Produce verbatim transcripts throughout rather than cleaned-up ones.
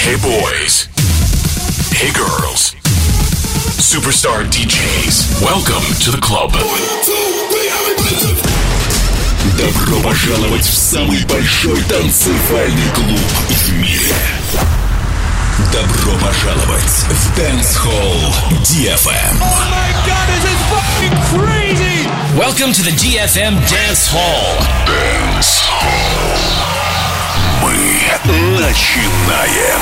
Hey boys. Hey girls. Superstar ди джейс. Welcome to the club. Добро пожаловать в самый большой танцевальный клуб в мире. Добро пожаловать в Dance Hall ди эф эм. Oh my god, this is fucking crazy! Welcome to the ди эф эм Dance Hall. Dance Hall. Мы начинаем.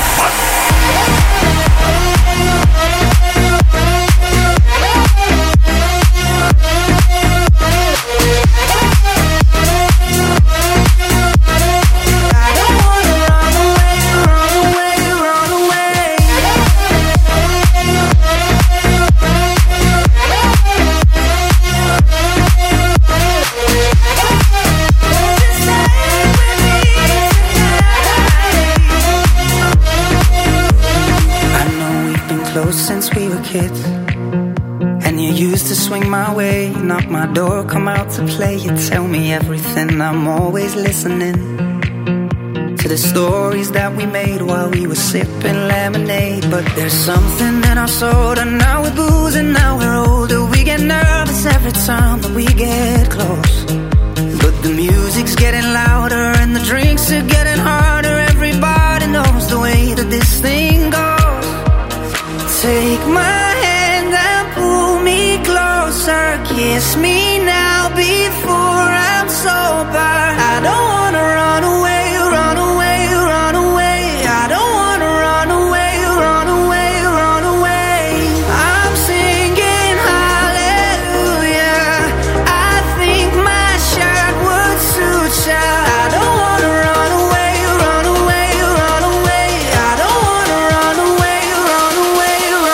Since we were kids, and you used to swing my way, knock my door, come out to play. You tell me everything, I'm always listening to the stories that we made while we were sipping lemonade. But there's something in our soda, now we're boozing, now we're older. We get nervous every time that we get close, but the music's getting louder and the drinks are getting harder. Everybody knows the way that this thing goes. Take my hand and pull me closer. Kiss me now before I'm sober. I don't wanna run away, run away, run away. I don't wanna run away, run away, run away. I'm singing hallelujah. I think my shirt would suit ya. I don't wanna run away, run away, run away. I don't wanna run away, run away.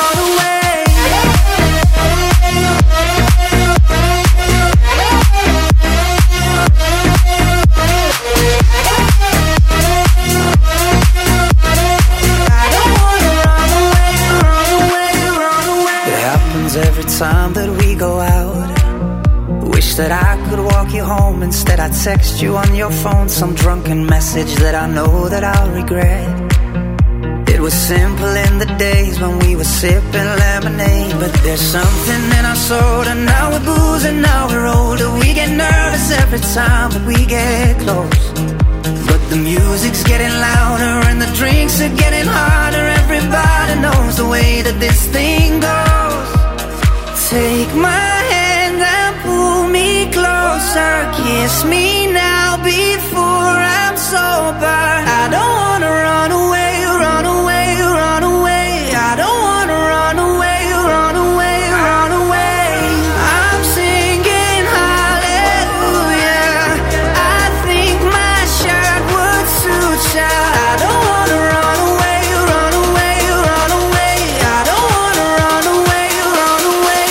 Every time that we go out, wish that I could walk you home. Instead I text you on your phone some drunken message that I know that I'll regret. It was simple in the days when we were sipping lemonade, but there's something in our soda, now we're boozing, now we're older. We get nervous every time that we get close, but the music's getting louder and the drinks are getting harder. Everybody knows the way that this thing goes. Take my hand and pull me closer. Kiss me now before I'm sober. I don't wanna run away, run away, run away. I don't wanna run away, run away, run away. I'm singing hallelujah. I think my shirt would suit ya. I don't wanna run away, run away, run away. I don't wanna run away, run away.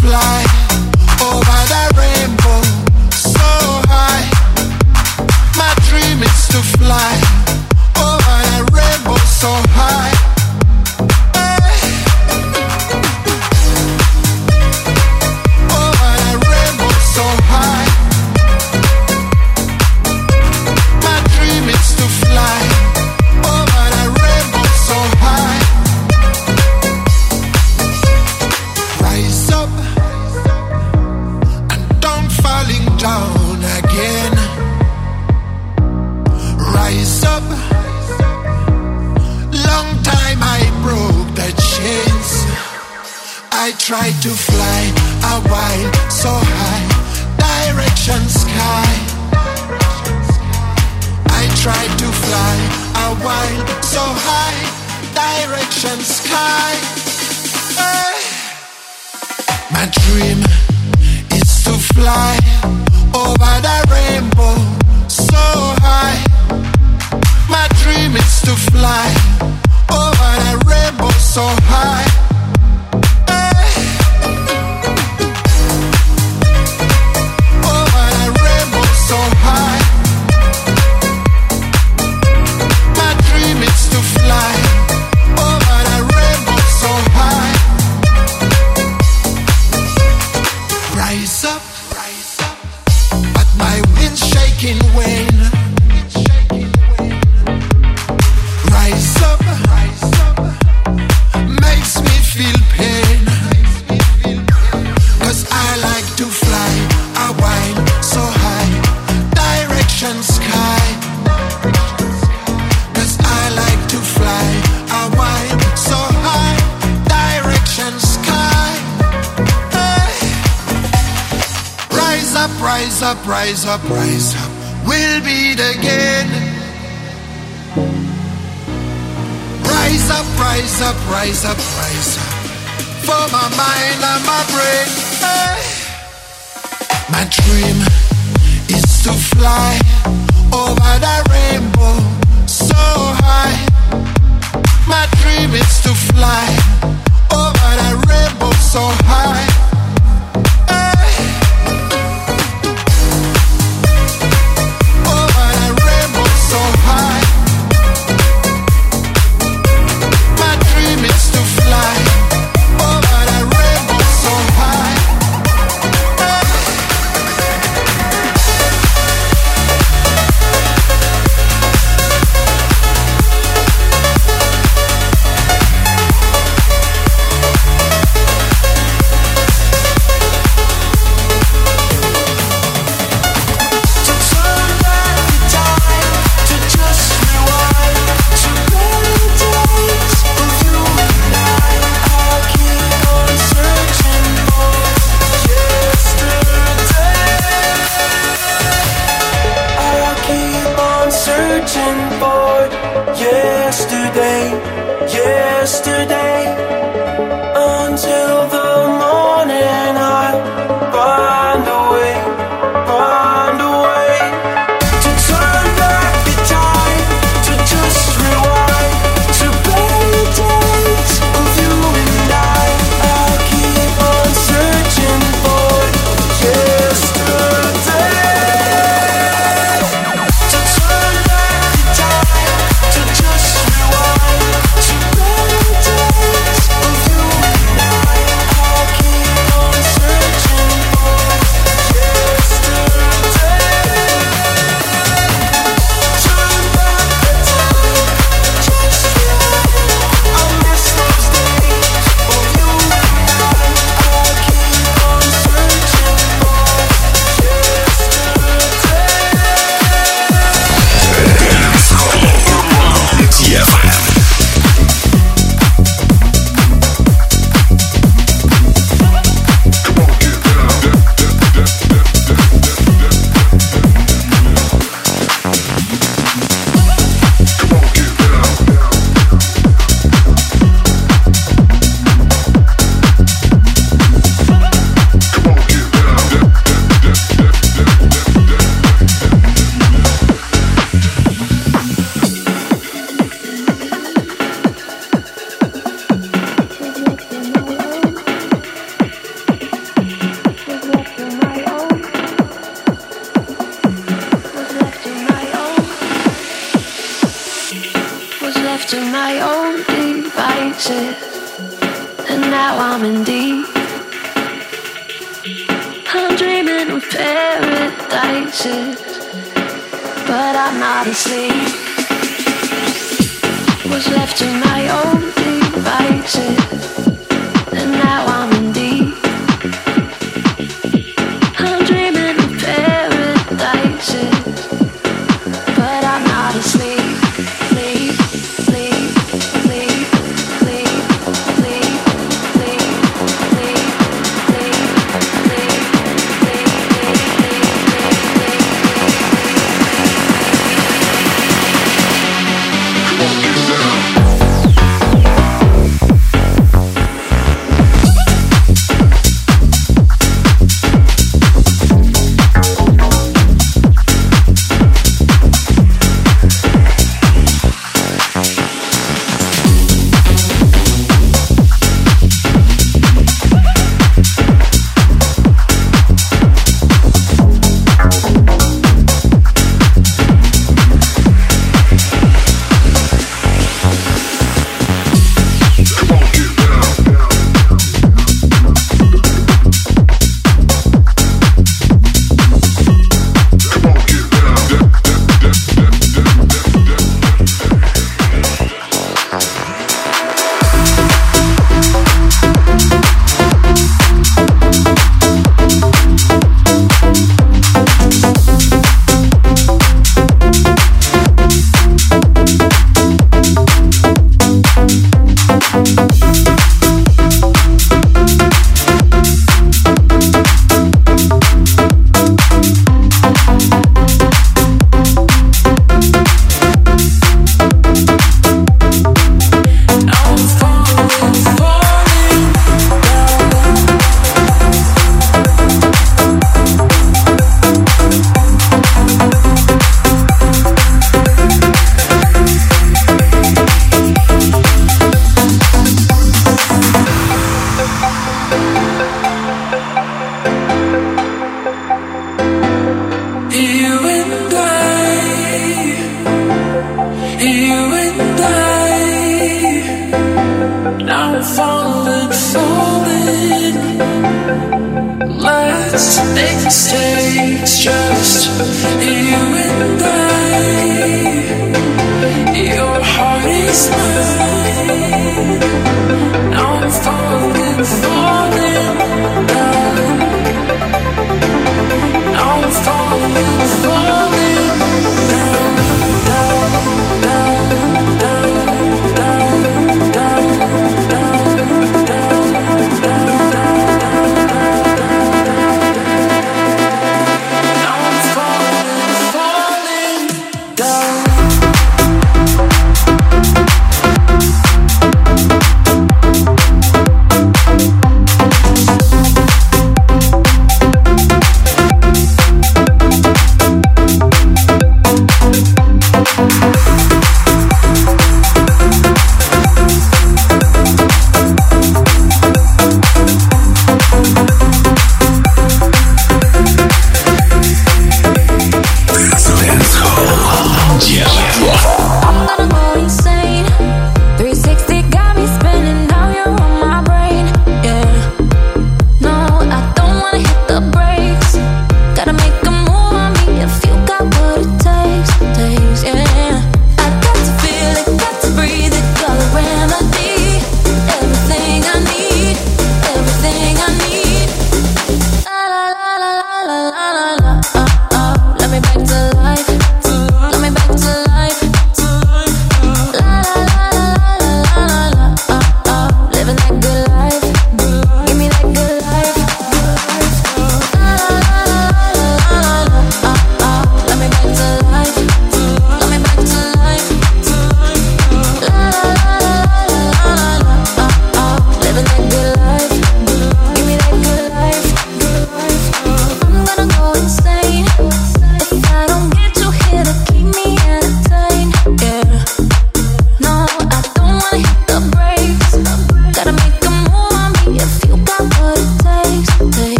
fly over the rainbow so high. My dream is to fly over the rainbow so high. Hey. Over the rainbow so high. My dream is to fly over the rainbow so high. Rise up and don't falling down again. Rise up. Long time I broke the chains. I tried to fly a while so high, direction sky. I tried to fly a while so high, direction sky. Hey. My dream is to fly over the rainbow so high. My dream is to fly over the rainbow so high. Hey. Over the rainbow so high. My dream is to fly over the rainbow so high. Rise up, rise up, but my wind's shaking wane. Rise up, rise up, makes me feel pain. Cause I like to fly a while so high, direction sky. Cause I like to fly a while so high, direction sky. Hey. Rise up, rise up, rise up, rise up, we'll beat again. Rise up, rise up, rise up, rise up, for my mind and my brain. Hey. My dream is to fly over the rainbow so high. My dream is to fly over the rainbow so high. Hey. Over the rainbow so high. My dream is to fly over the rainbow so high. Hey. to my own devices, and now I'm in deep. I'm dreaming of paradises, but I'm not asleep. Was left to my own devices, and now I'm in deep. I'm dreaming of paradises, but I'm not asleep. Sleep, sleep, sleep, sleep, sleep, sleep, sleep,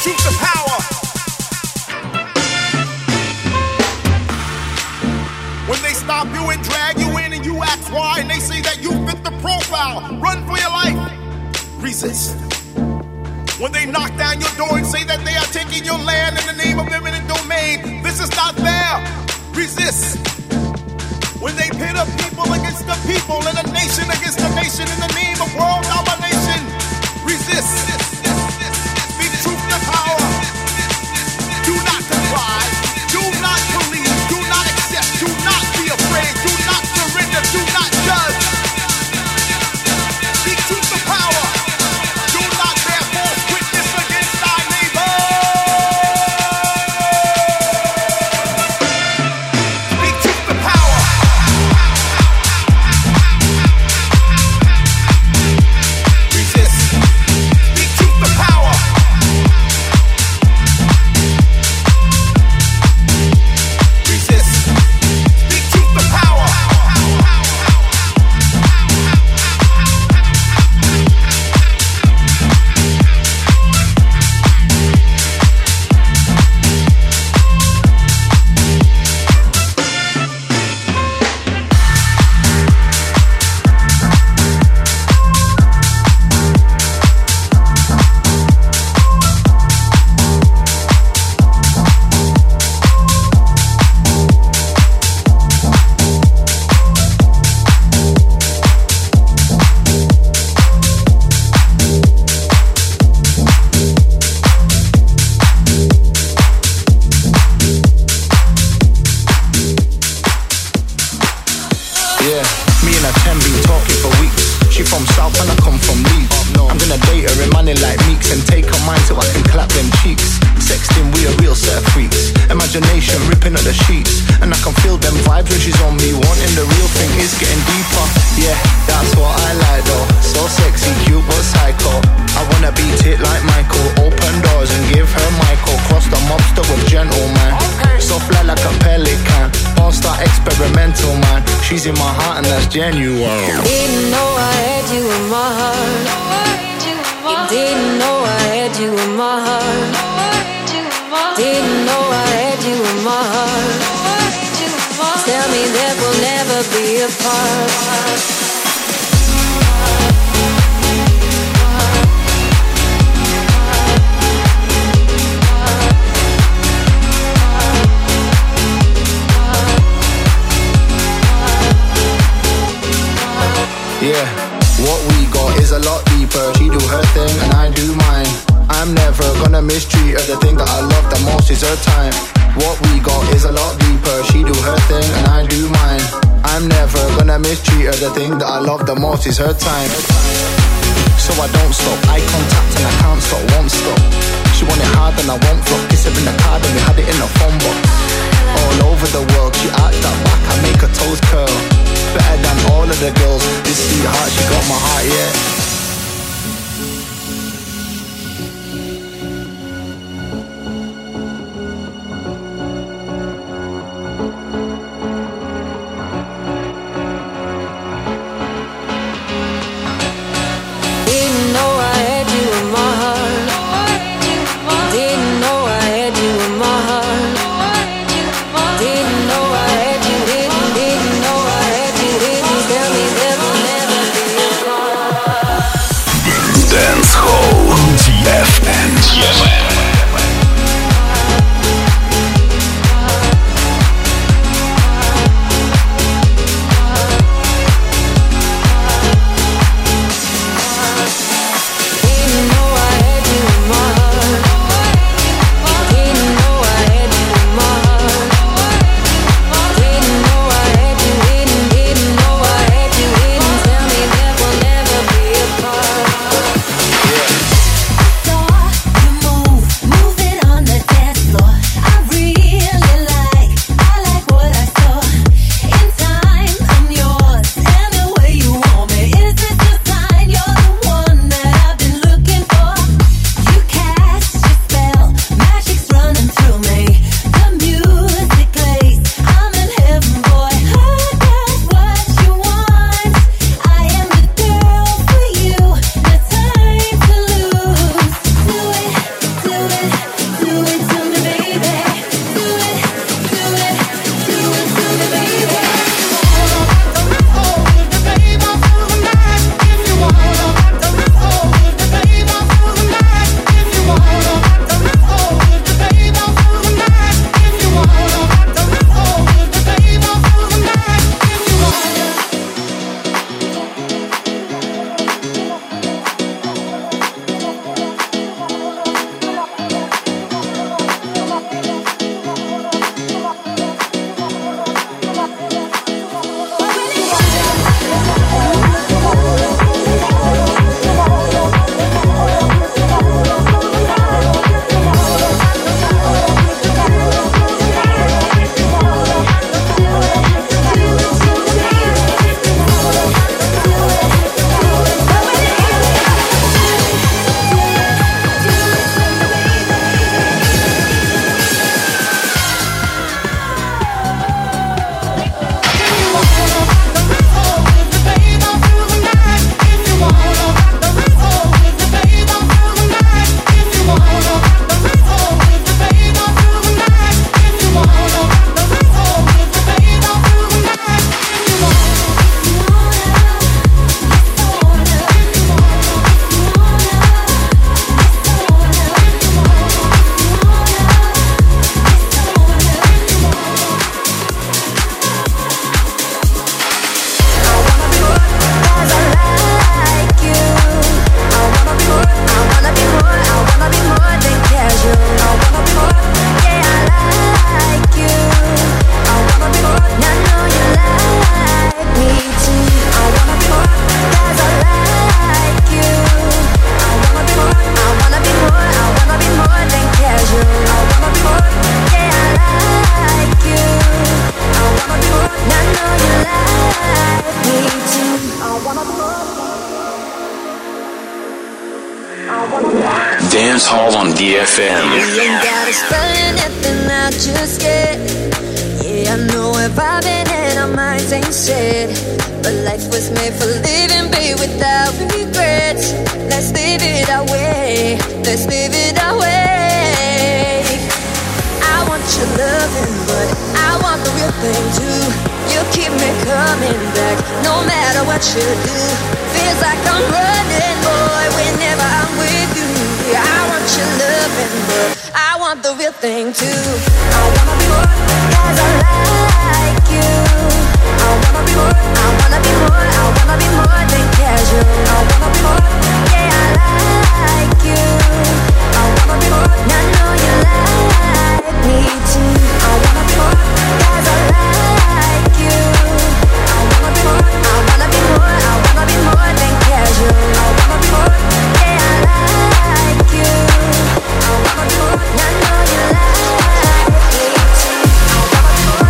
truth to power. When they stop you and drag you in and you ask why, and they say that you fit the profile, run for your life. Resist. When they knock down your door and say that they are taking your land in the name of eminent domain, this is not fair. Resist. When they pit a people against the people and a nation against a nation in the name of world domination, resist. Speak truth to power. Do not comply. Do not believe. Do not accept. Do not be afraid. Do not surrender. Do not judge. Speak truth to power. Do not bear false witness against thy neighbor. Speak truth to power. Resist. Speak truth to power. Resist. Speak truth to power. Yeah, me and her ten been talking for weeks. She from South and I come from Leeds. I'm gonna date her in money like Meeks and take her mind so I can clap them cheeks. Sexting, we a real set of freaks. Imagination ripping at the sheets, and I can feel them vibes when she's on me. Wanting the real thing is getting deeper. Yeah, that's what I like though. So sexy, cute but psycho. I wanna beat it like Michael. Open doors and give her Michael. Cross the mobster with gentleman. So fly like a pelican. All-star experimental man. She's in my heart and that's genuine. Didn't know I had you in my heart. You didn't know I had you in my heart. Didn't know I had you in my heart. Tell me that we'll never be apart. Yeah, what we got is a lot deeper. She do her thing and I do mine. I'm never gonna mistreat her. The thing that I love the most is her time. What we got is a lot deeper. She do her thing and I do mine. I'm never gonna mistreat her. The thing that I love the most is her time. So I don't stop, eye contact and I can't stop, won't stop. She want it hard and I won't flop. Kiss her in the card and we had it in the phone box. All over the world, she arched that back, I make her toes curl. Better than all of the girls. This sweetheart, she got my heart, yeah. Tell me that we'll never be apart. Dance Hall on D F M. You ain't gotta spell anything out just yet. Yeah, I know we're vibing and our minds ain't set. But life was made for living, babe, without regrets. Let's live it our way. Let's live it our way. I want your loving, but I want the real thing too. You keep me coming back, no matter what you do. Feels like I'm running, boy, whenever I'm with you. I want your loving, but I want the real thing too. I wanna be more, cause I like you. I wanna be more, I wanna be more, I wanna be more than casual. I wanna be more, yeah, I like you. I wanna be more, and I know you like me too. I wanna be more, cause I like you. I wanna be more, I wanna be more, I wanna be more than casual. I wanna be more, yeah, I like you. I wanna be more, and I know you like me too. I wanna be more.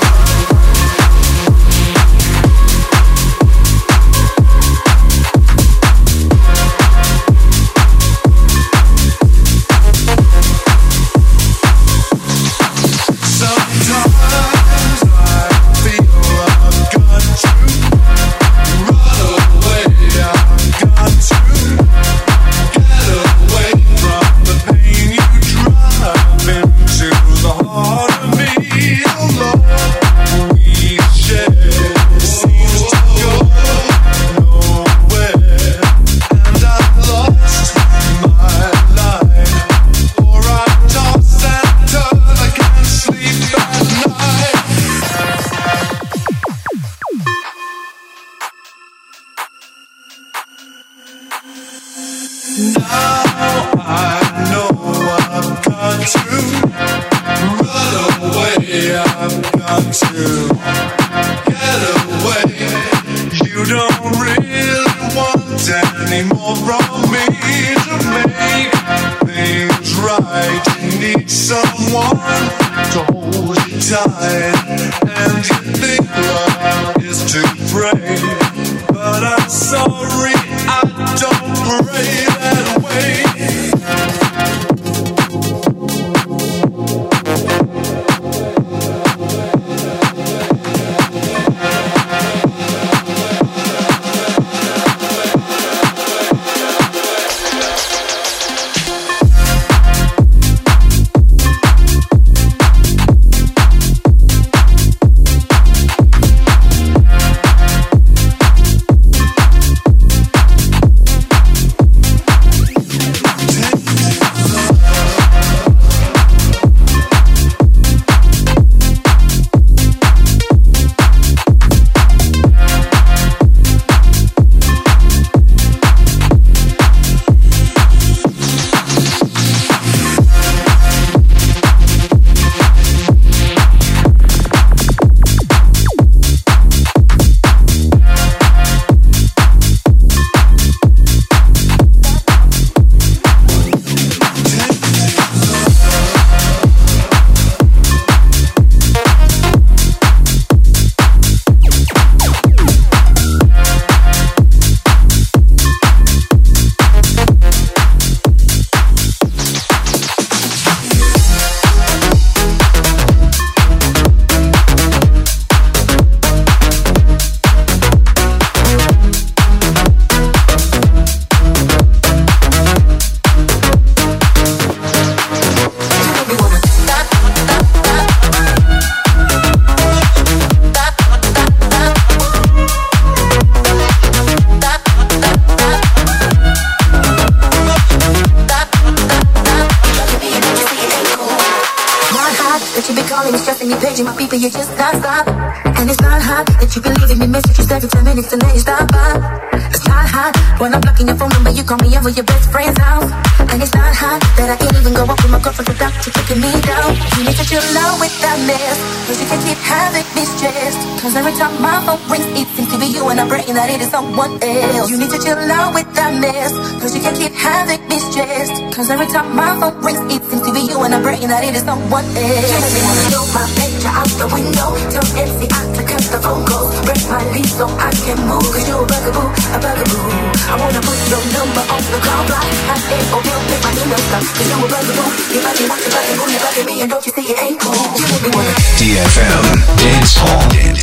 You just can't stop. And it's not hot that you believe in me messages every ten minutes and then you stop by. It's not hot when I'm blocking your phone number, you call me over your best friend's house. And it's not hot that I can't even go up with my girlfriend without you kicking me down. You need to chill out with that mess, cause you can't keep having me stressed. Cause every time my phone rings, it seems to be you and I'm praying that it is someone else. You need to chill out with that mess, cause you can't keep having me stressed. Cause every time my phone rings, it seems to be you and I'm praying that it is someone else. You make me wanna throw my picture out the window, tell M C I to cut the phone calls, break my lease so I can move. Cause you're a bugaboo, a bugaboo. I wanna put your number on the call block. I say, oh, you'll pick my email ди эф эм Dance Hall.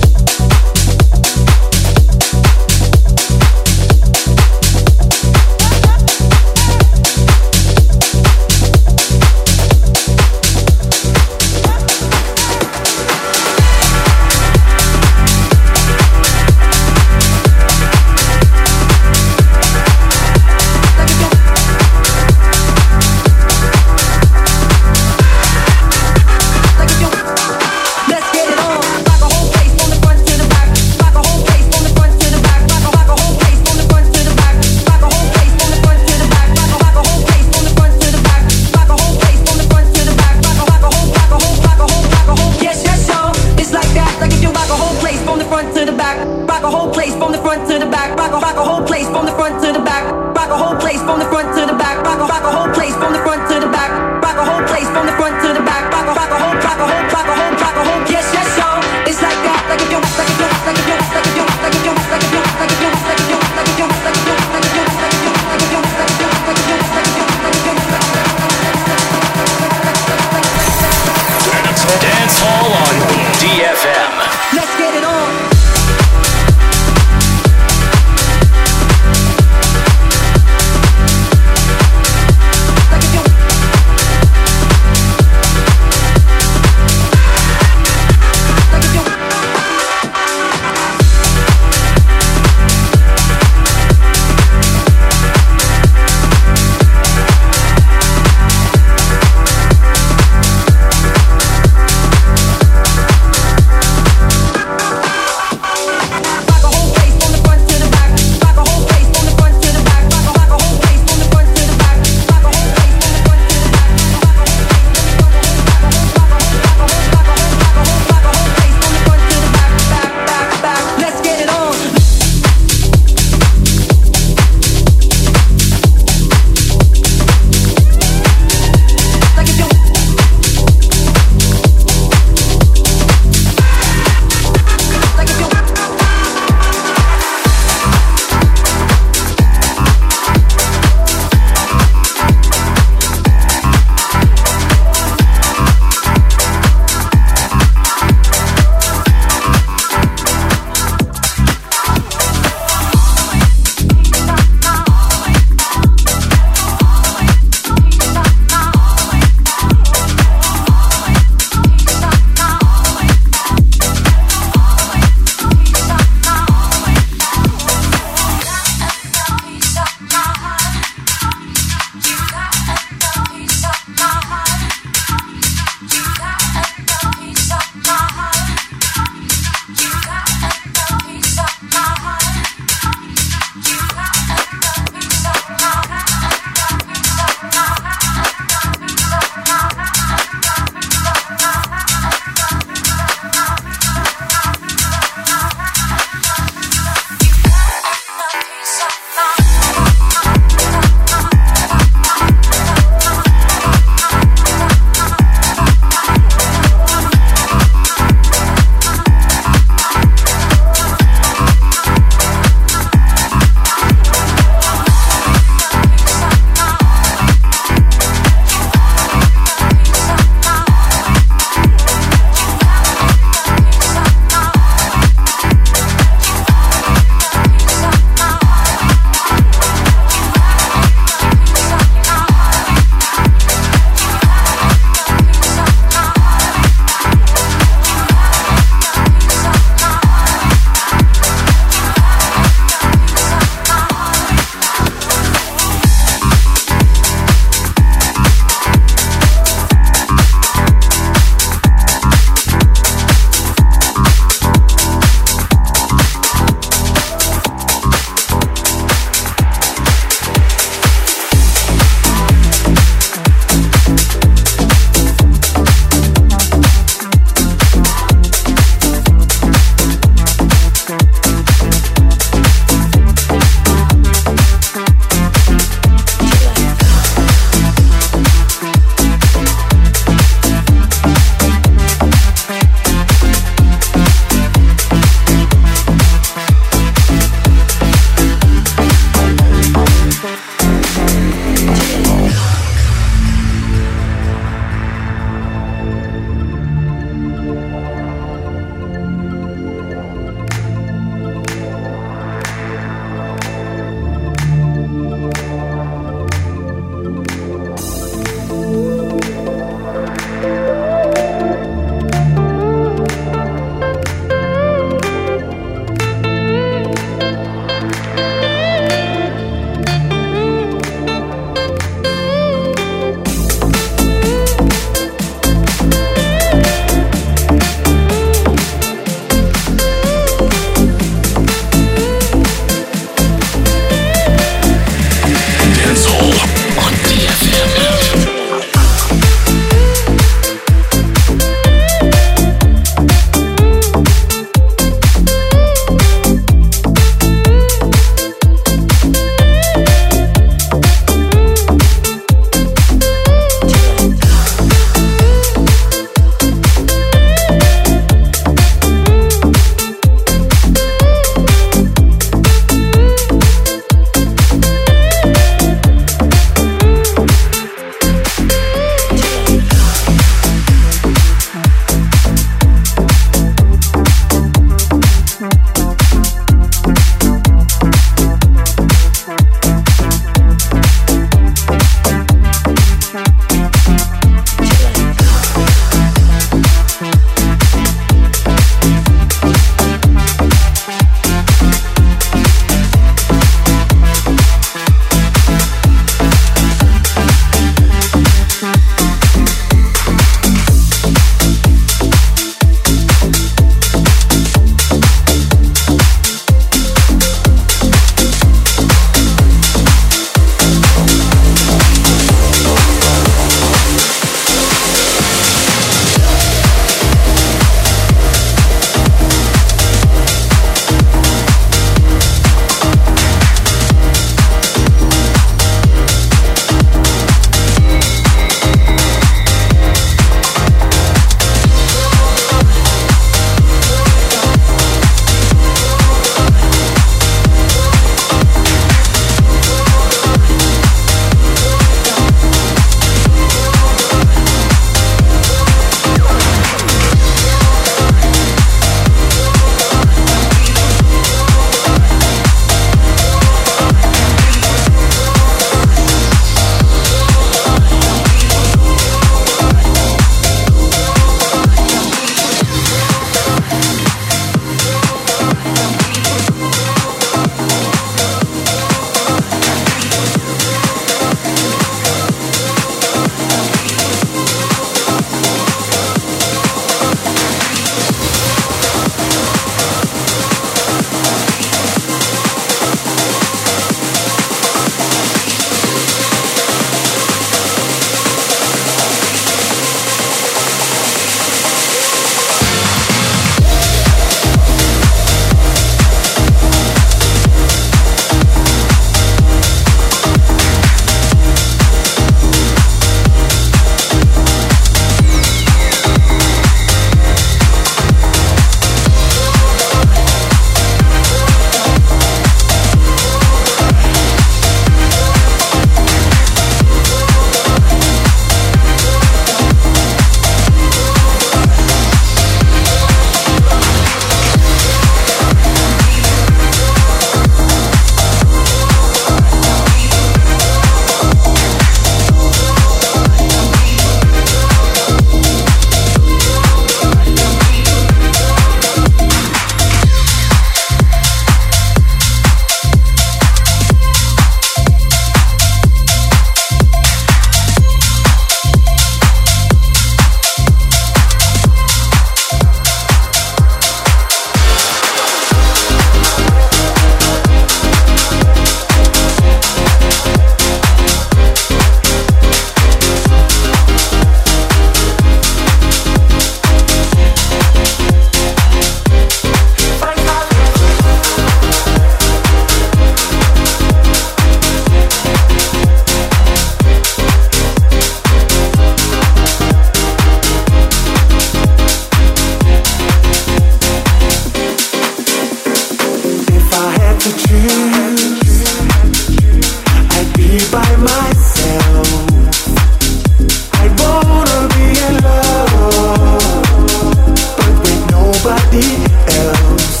I'd be by myself. I wanna be in love, but with nobody else.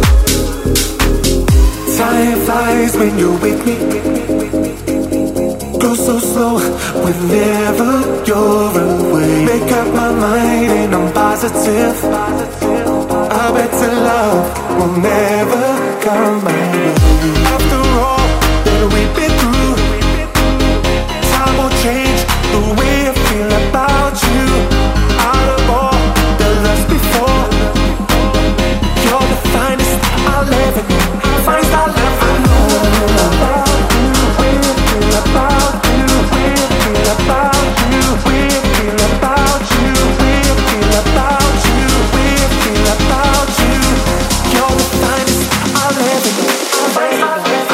Time flies when you're with me. Go so slow whenever you're away. Make up my mind and I'm positive. I bet your love will never come my way. After all that we've been through, time will change the way I feel about you. Out of all the loves before, you're the finest I'll ever know. Finest I'll ever know. About you, we feel about you, we feel about you, we feel about you, we feel about you, we feel about you. You're the finest I'll ever know. Finest I'll ever know.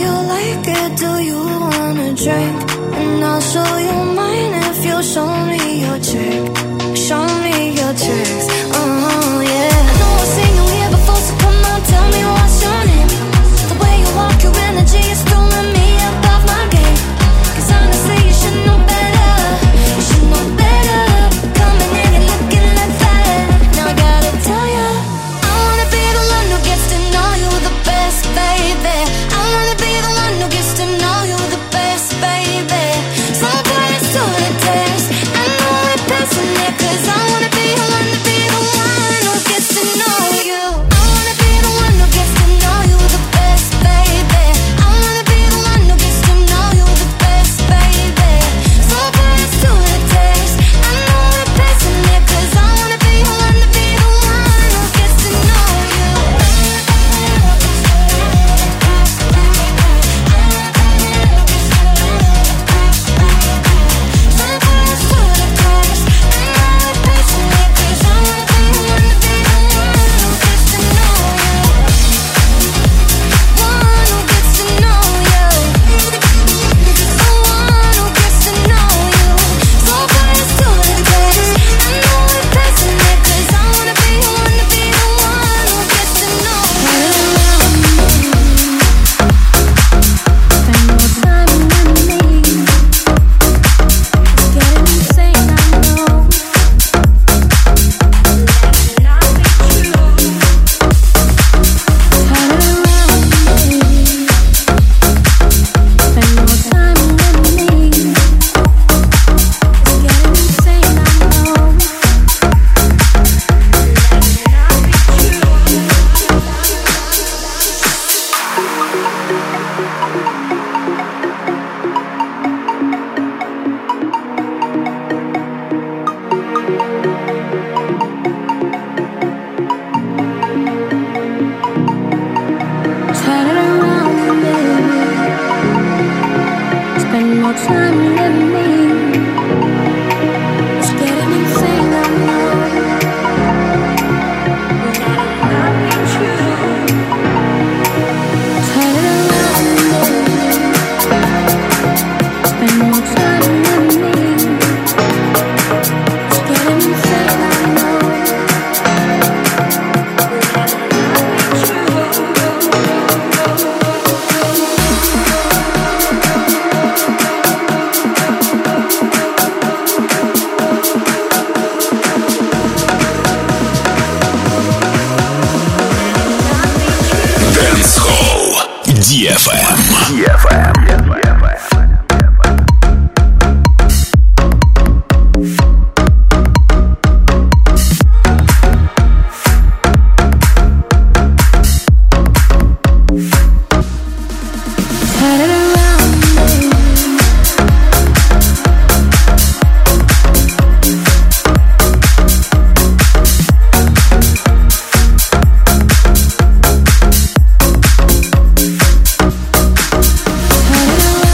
you like it? Do you wanna drink? And I'll show you mine if you show me your trick. Show me your tricks. Oh yeah. I know I've seen you here before, so come on, tell me what's your name. The way you walk, your energy is throwing me above my game. 'Cause honestly, you should know better. You should know better. Coming in and looking like that. Now I gotta tell ya, I wanna be the one who gets to know you the best, baby. I wanna be the one who gets to know you the best, baby. So put us to the test. I know we're passing it, 'cause I wanna be the one to be the one who gets to know you. I wanna be the one who gets to know you the best, baby. I wanna be the one who gets to know you the best, baby. So put us to the test. I know we're passing it, 'cause I wanna be the one to be the one who gets to know you. ди эф эм. Turn it around.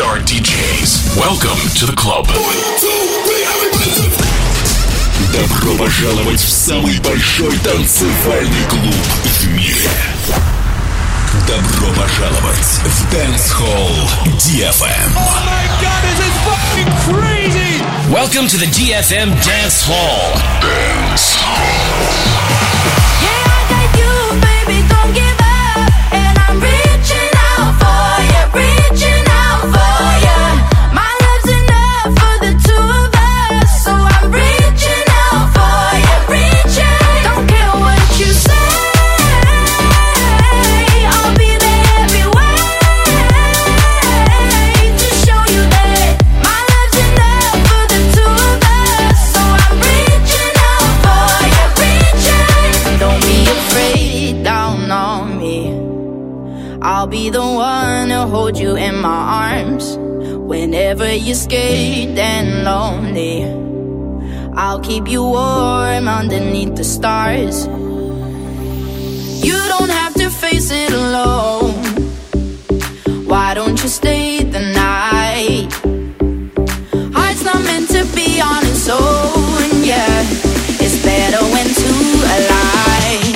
Star ди джейс. Welcome to the club. Добро пожаловать в самый большой танцевальный клуб в мире. Добро пожаловать в Dance Hall ди эф эм. Oh my God, this is fucking crazy! Welcome to the ди эф эм Dance Hall. Dance Hall. Yeah, I got you, baby, don't give up. And I'm reaching out for you, reaching out for you. My love's enough for the two of us, so I'm reaching out for you, reaching. Don't care what you say. I'll be the one to hold you in my arms whenever you're scared and lonely. I'll keep you warm underneath the stars. You don't have to face it alone. Why don't you stay the night? Heart's not meant to be on its own, yeah. It's better when two align.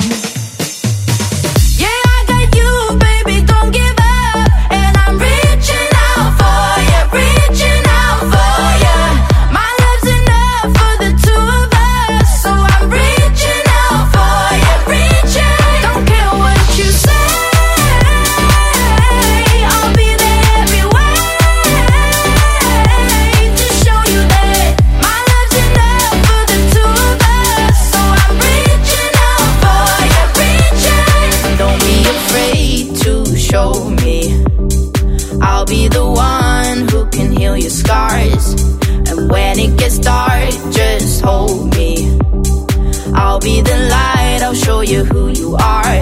Be the one who can heal your scars. And when it gets dark, just hold me. I'll be the light, I'll show you who you are.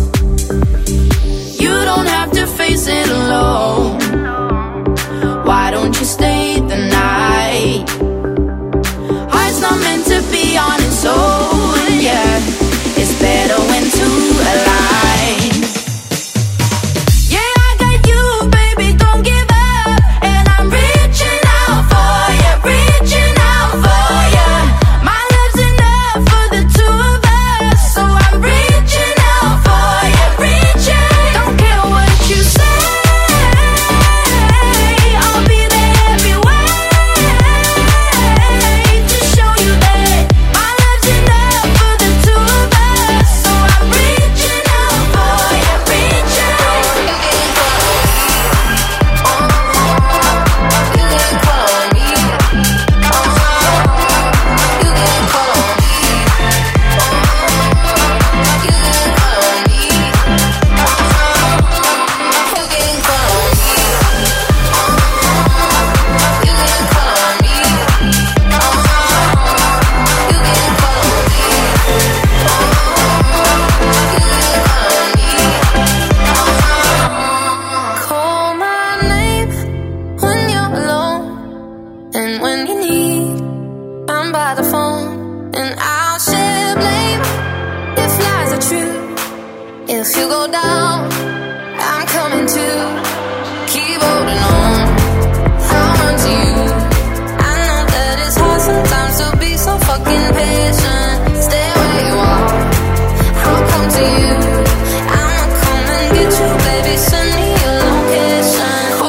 You don't have to face it alone. Why don't you stay the night? Heart's not meant to be on its own, yeah. It's better when two align.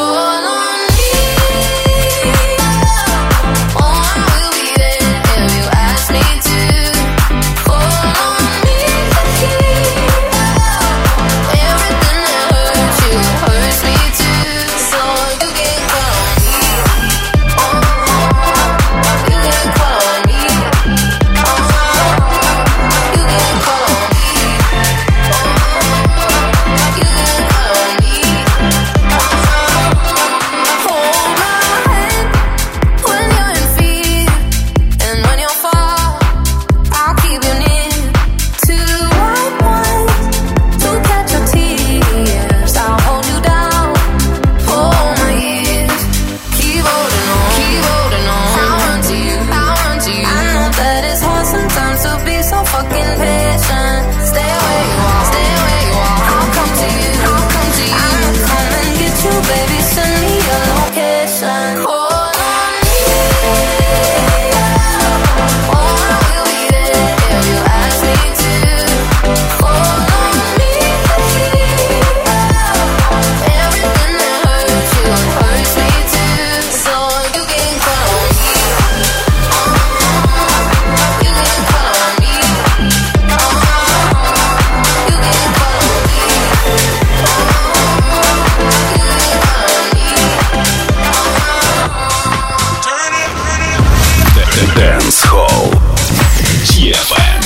Everywhere Dance Hall ди эф эм.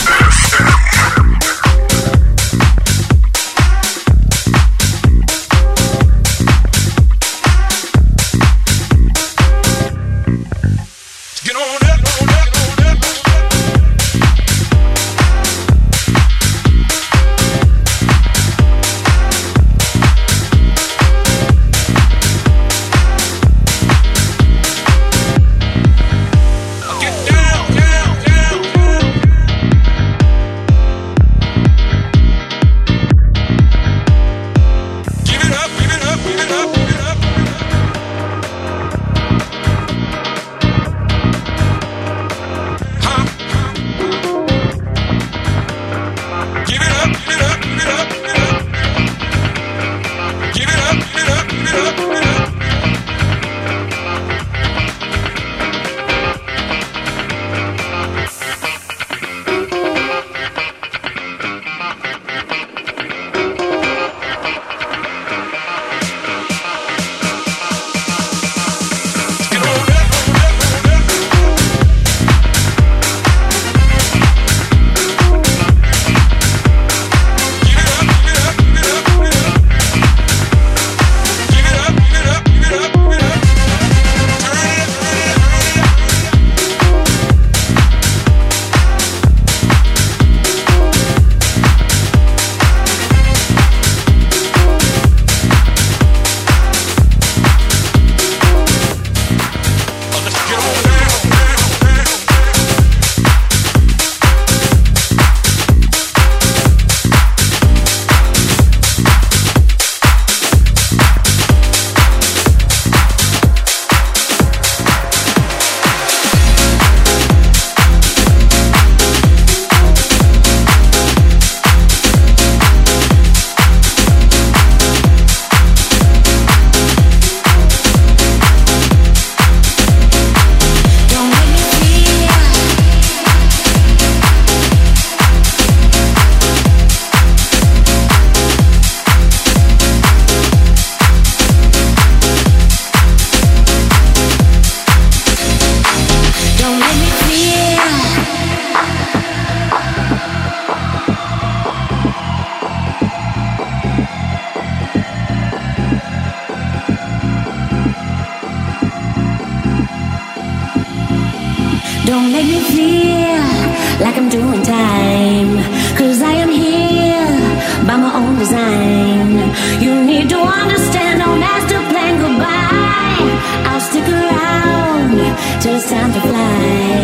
Don't make me feel like I'm doing time, 'cause I am here by my own design. You need to understand, don't have to plan goodbye. I'll stick around till it's time to fly.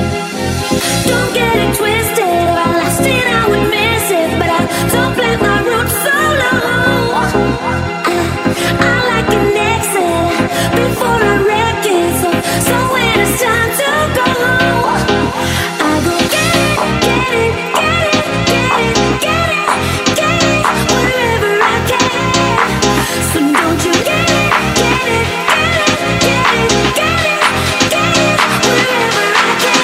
Don't get it twisted, if I lost it I would miss it, but I don't plant my roots so low. I, I like an exit before I wreck it, so, so when it's time to go, I go get it, get it, get it, get it, get it, get it, wherever I can. So don't you get it, get it, get it, get it, get it, get it, wherever I can.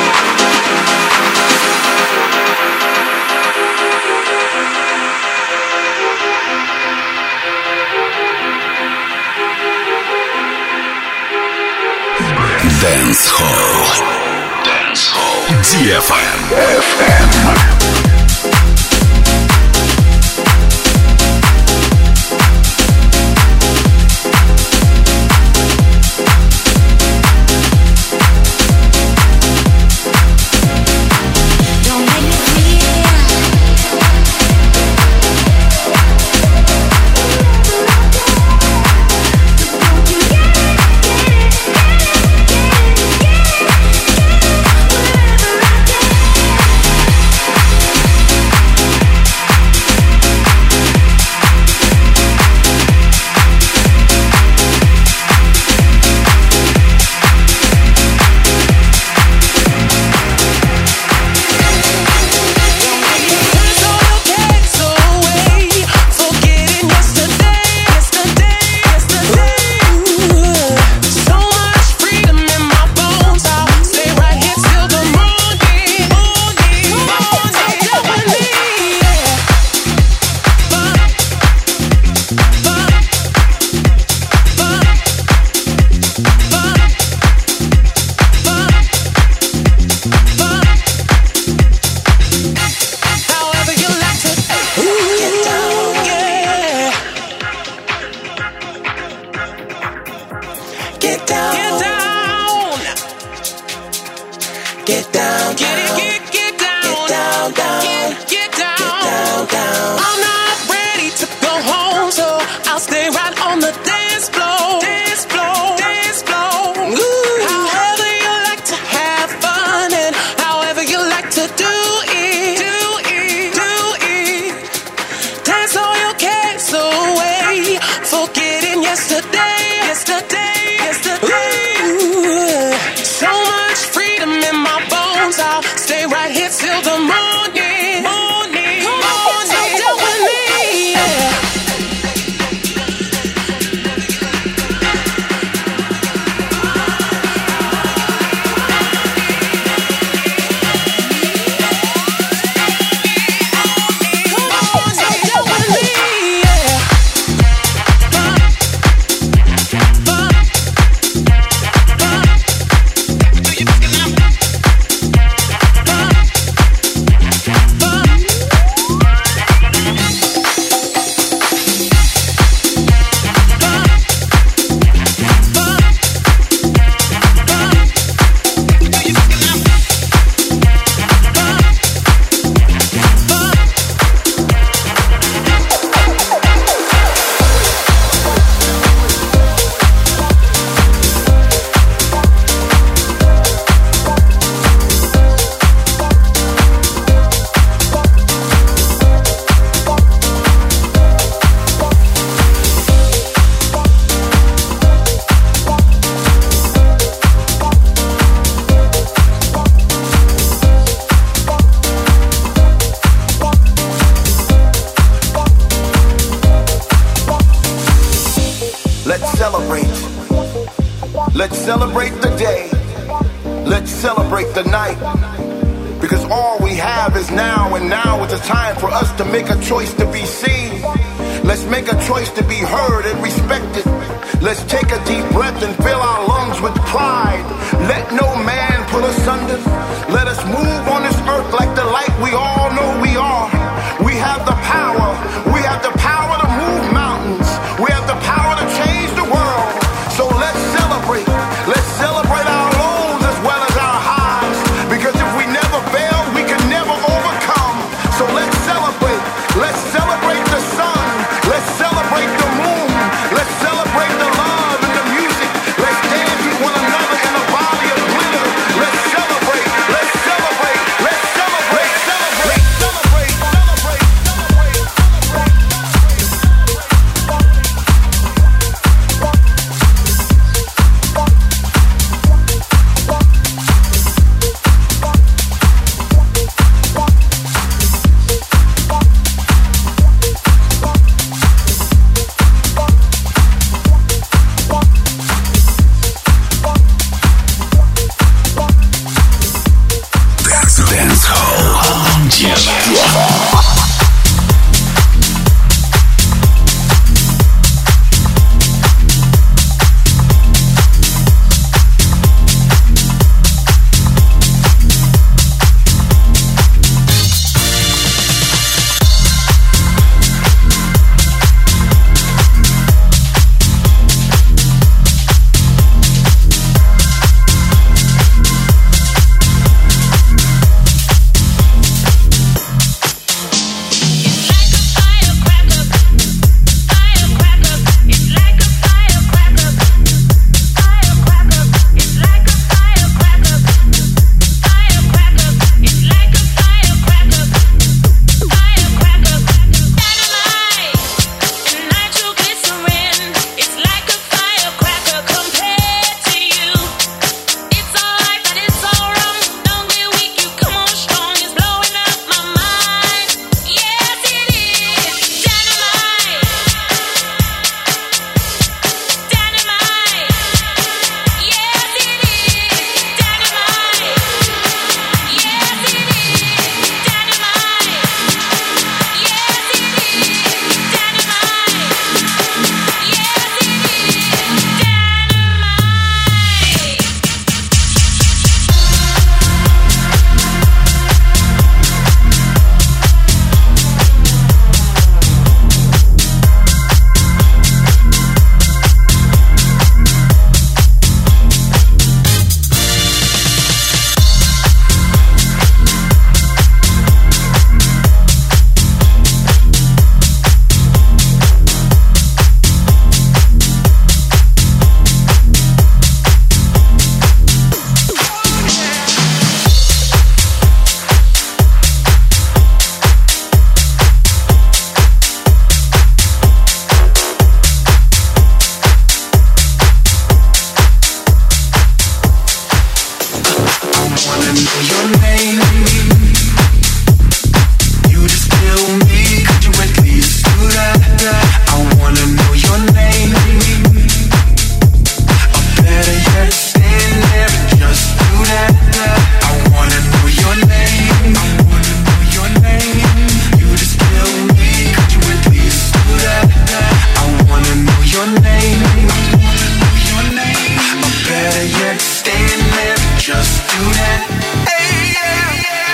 Dance Hall. Dance Hall. ди эф эм. эф эм. get down, down. Get it, get, get down. Get down, down. Get, get down. Get down, down. I'm not ready to go home, so I'll stay right on the dance floor. Dance floor. Dance floor. Ooh. However you like to have fun and however you like to do it. Do it. Do it. Dance all your cares away. Forgetting yesterday. Yesterday. Yesterday. Ooh. So much freedom in my bones. I'll stay right here till the morning. Morning. Come on, so down with me. Yeah. Let's celebrate. Let's celebrate the day. Let's celebrate the night. Because all we have is now, and now is the time for us to make a choice to be seen. Let's make a choice to be heard and respected. Let's take a deep breath and fill our lungs with pride. Let no man pull us under. Let us move on this earth like the light we all know we are. We have the power. We have the power to move mountains. We have the power to change the world. So let's celebrate. Let's celebrate our lows as well as our highs. Because if we never fail, we can never overcome. So let's celebrate. Let's celebrate the sun. Let's celebrate the moon. Let's celebrate the love and the music. Let's dance with one another in a body of glitter. Let's celebrate. wanna know your name. You just kill me, could you at least do that? I wanna know your name. Or better yet, stand there and just do that. I wanna know your name. I wanna know your name. You just kill me, could you at least do that? I wanna know your name. I wanna know your name. Or better yet, stand there and just do that. Hey, yeah, yeah.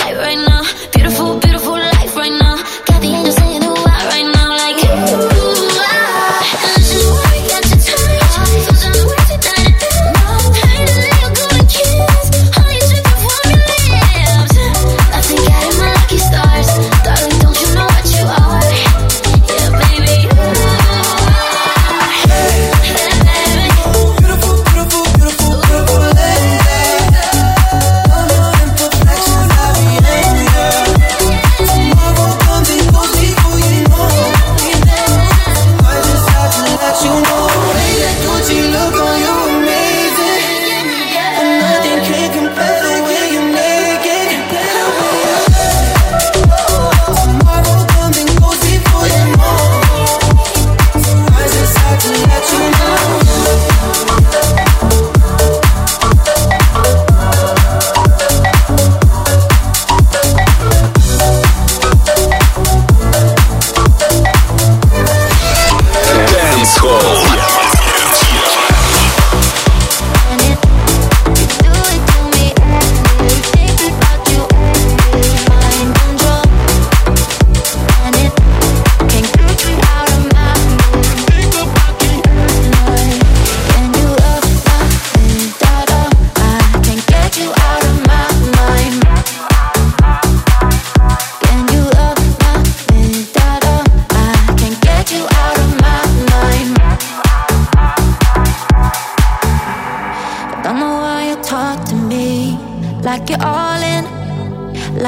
Beautiful, beautiful life right now. Got the angels saying, oh, I right now, like, ooh.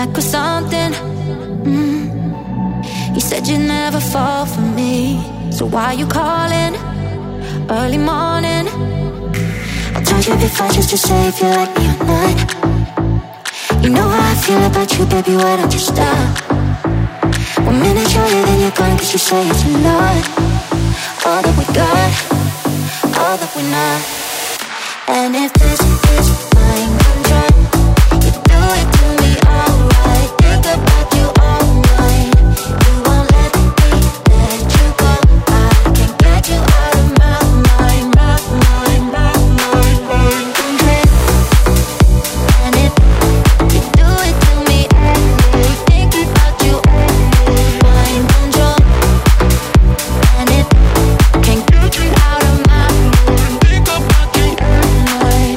back with something. Mm. You said you'd never fall for me, so why you calling early morning? I told you before just to say if you like me or not. You know how I feel about you, baby, why don't you stop? One minute you're here, then you're gone, cause you say it's a lot. All that we got, all that we're not. And if this is mind control, you do it to me alright. Think about you all night. You won't let me let you go. I can't get you out of my mind, my mind, my mind, mind control. And if you do it to me anyway, think about you anyway, mind control. And if can't get you out of my mind, think about you anyway.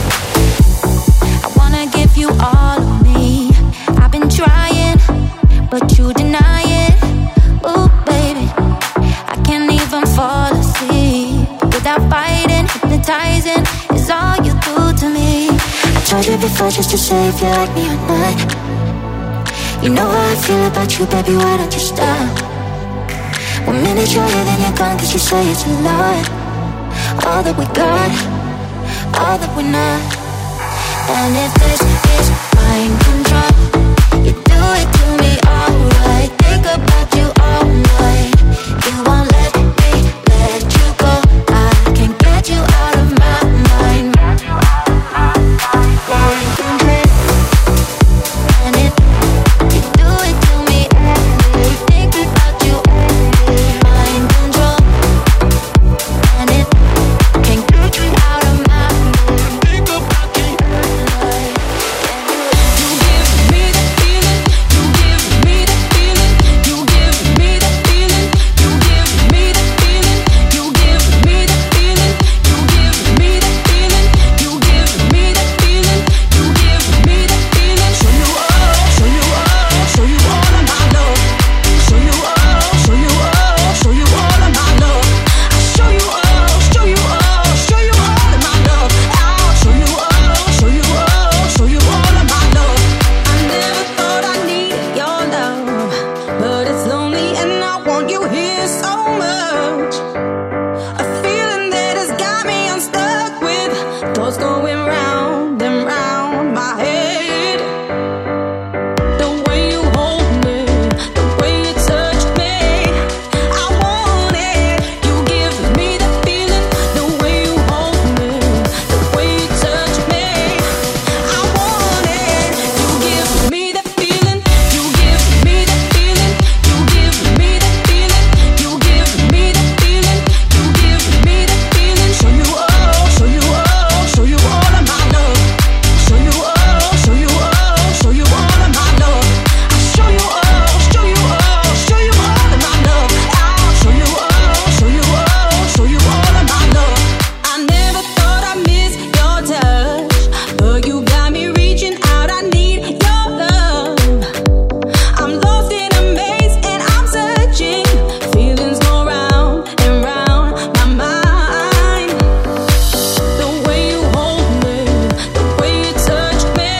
I wanna give you all of me. I've been trying, but you deny it. Ooh, baby, I can't even fall asleep without fighting. Hypnotizing is all you do to me. I told you before just to say if you like me or not. You know how I feel about you, baby, why don't you stop? One minute you're here, then you're gone, cause you say it's a lot. All that we got, all that we're not. And if this is mind control, you do it to me alright. Think about you all night. You won't let me let you go. I can't get you out of my mind. Mind control. And if you do it to me anyway, think about you anyway. Mind control. And if can't get you out of my mind, think about you anyway. You give me the feeling. You give me the feeling. You give me the feeling. You give me the feeling. You give me the feeling. You give me the feeling. You give me the feeling. You give me the feeling. Show you all, show you all, show you all of my love. Show you all, show you all, show you all of my love. I show you all, show you all, show you all of my love. I'll show you all, show you all, show you all of my love. I never thought I needed your love, but it's lonely and I want you here so much. A feeling that has got me unstuck with thoughts going round and round my head. The way you hold me, the way you touch me, I want it. You give me the feeling, the way you hold me, the way you touch me, I want it. You give me the feeling, you give me the feeling, you give me the feeling, you give me the feeling, you give me the feeling. Show you all, show you all, show you all of my love. Show you all, show you all, show you all of my love. I show you all, show you all, show you all of my love. I'll show you all, show you all, show you all of my love. I never thought I'd miss your touch, but you got me reaching out. I need your love. I'm lost in a maze and I'm searching. Feelings go round and round my mind. The way you hold me, the way you touch me,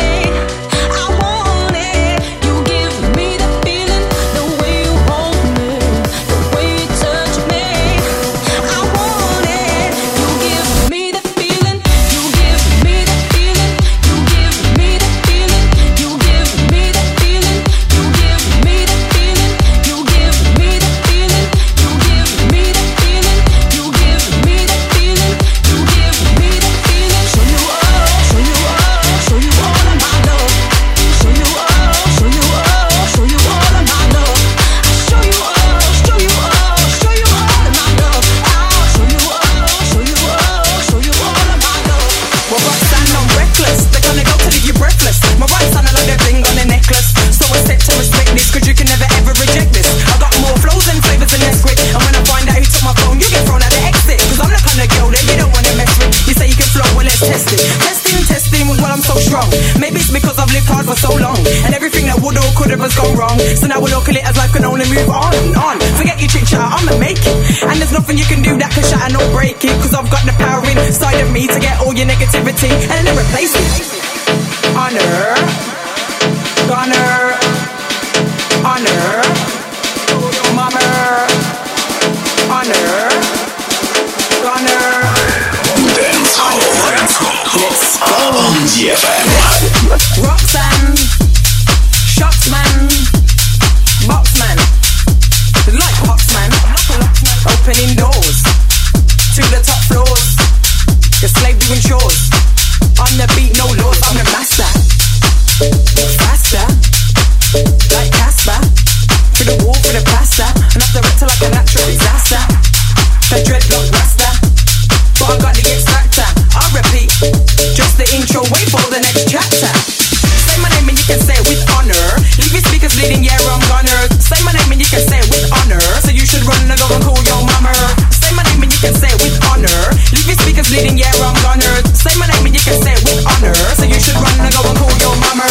I want it. You give me the feeling, the way you hold me, the way you touch me, I want it. You give me the feeling, you give me the feeling, you give me the feeling, you give me the feeling, you give me the feeling, you give me the feeling, you give me the feeling, you give me the feeling, you give me the feeling. Show you all, show you all, show you all of my love. Show you all, show you all, show you all of my love. I show you all, show you all, show you all of my love. I'll show you all, show you all, show you all of my love. Well, Roxanne, I'm reckless. They're gonna go till you breathless. My rights on a like a bling on a necklace. So I said to respect this, cause you can never ever reject this. I got more flows and flavors than Nesquik. And when I find out who took my phone, you get thrown out the exit. Cause I'm the kind of girl that you don't wanna mess with. You say you can flow, well let's test it. Testing, testing was well I'm so strong. Maybe it's because I've lived hard for so long. And everything that would or could have has gone wrong. So now we'll look at it as life can only move on and on. Forget your chit chat, I'ma make it. And there's nothing you can do that can shatter nor break it. Cause I've got the power inside of me to get all your negativity and then replace it. Honor, honor. ди эф эм. Roxanne, Shotsman, Boxman, like Boxman, opening doors to the top floors. The slave doing chores. On the beat, no laws, I'm the master. Faster, like Casper. For the wall, for the plaster. And off the rector like a natural disaster. The dreadlock rasta. But I got the X factor. I'll repeat, just the intro, wait for the next chapter. Say my name and you can say it with honor. Leave your speakers bleeding, yeah, I'm gonna. Say my name and you can say it with honor. So you should run and go and call your mama. Say my name and you can say it with honor. Leave your speakers bleeding, yeah, I'm gonna. Say my name and you can say it with honor. So you should run and go and call your mama.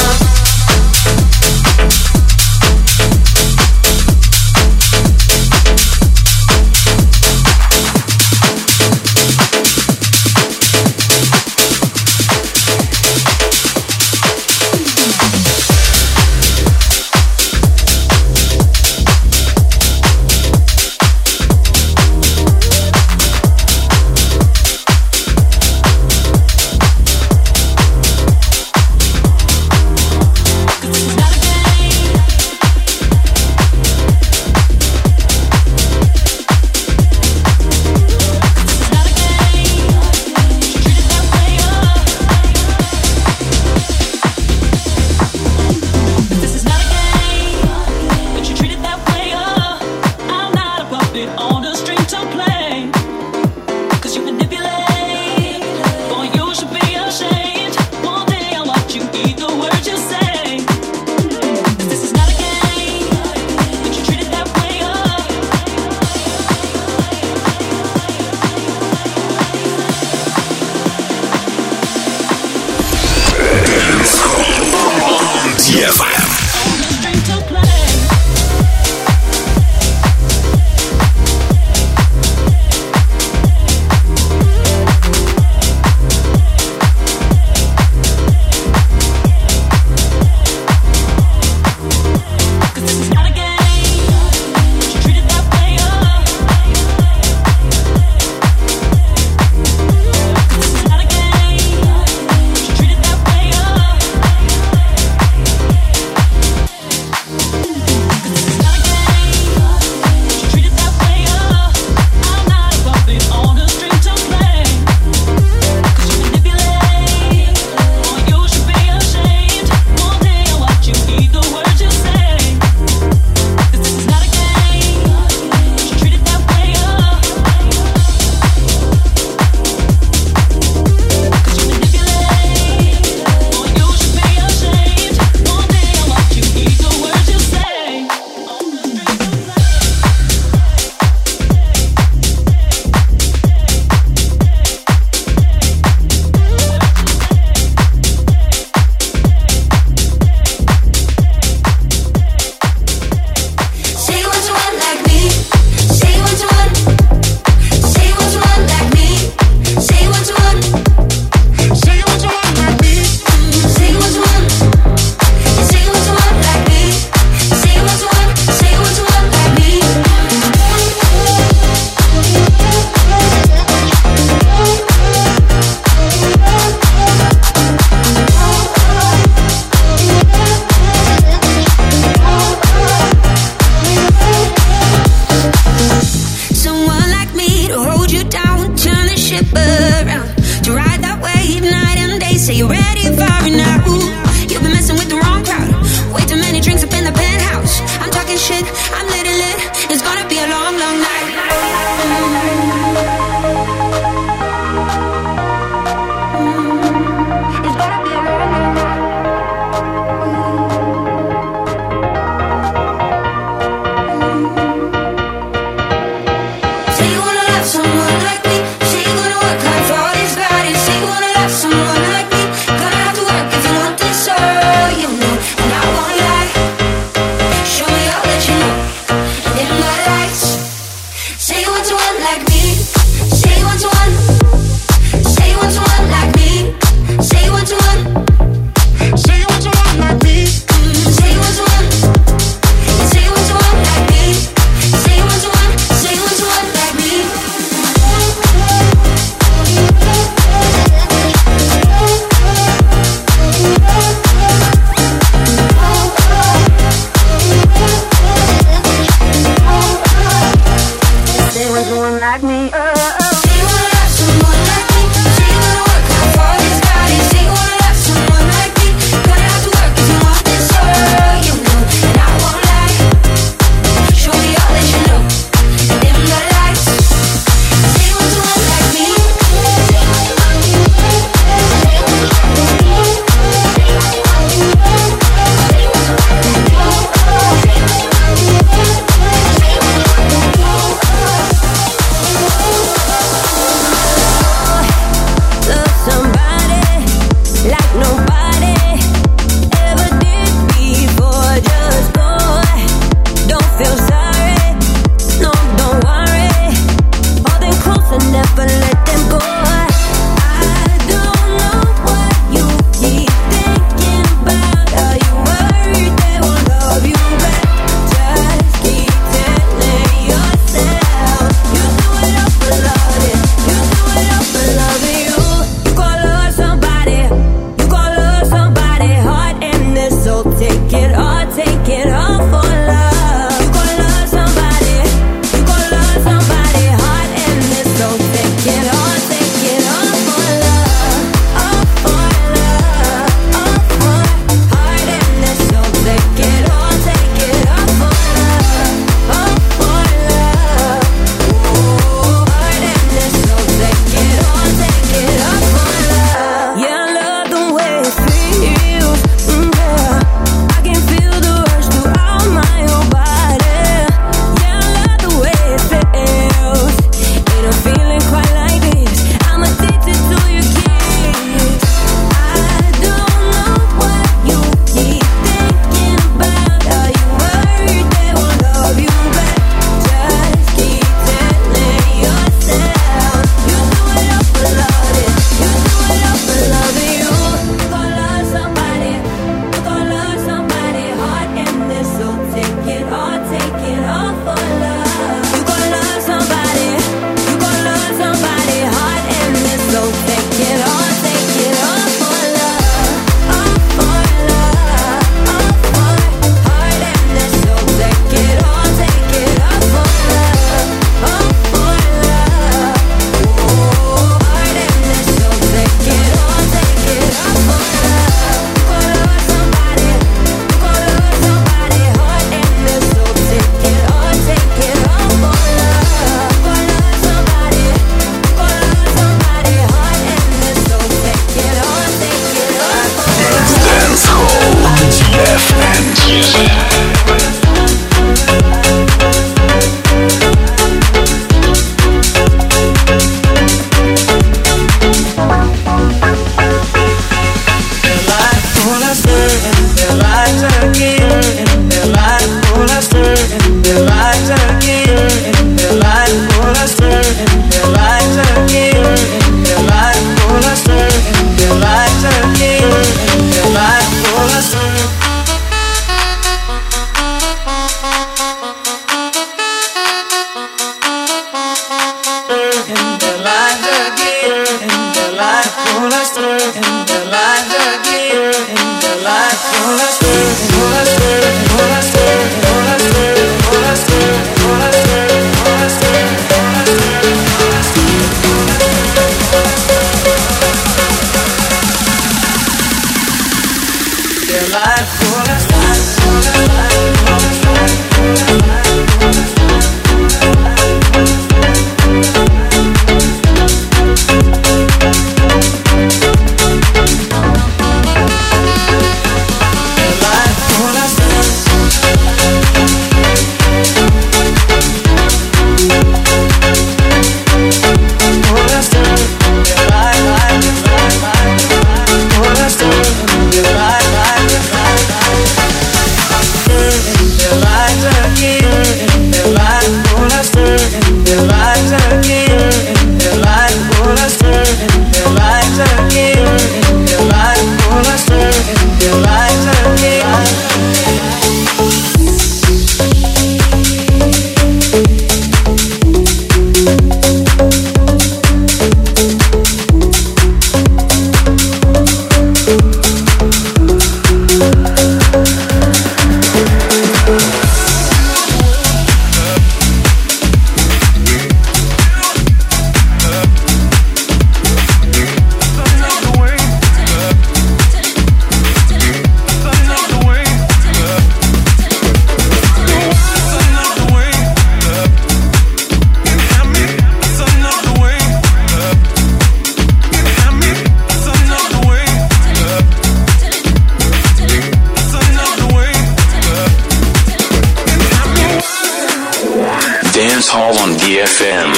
Dance Hall on D F M.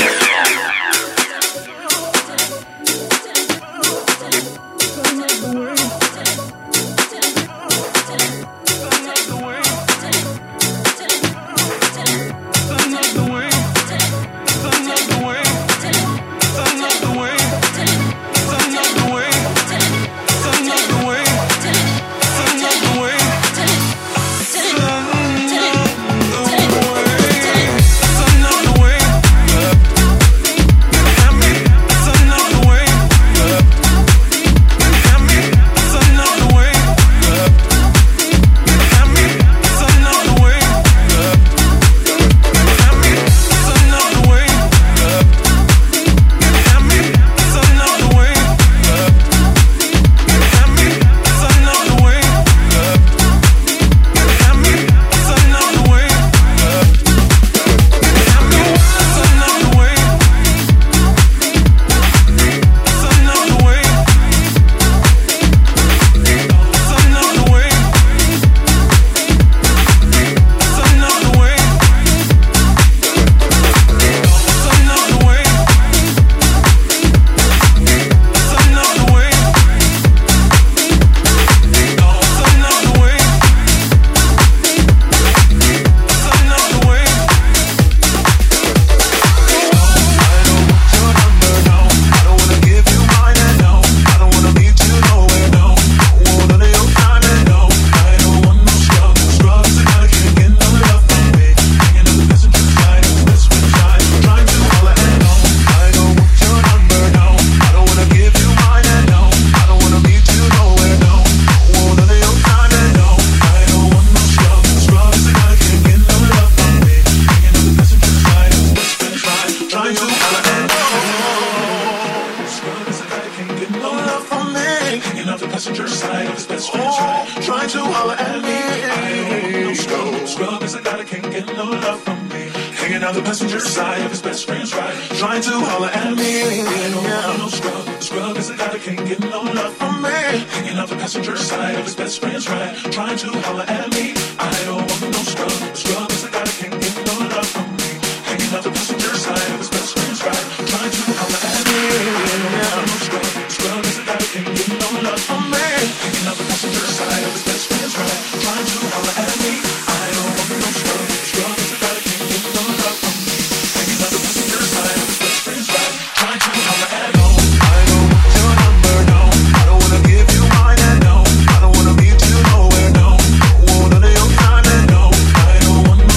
I don't wanna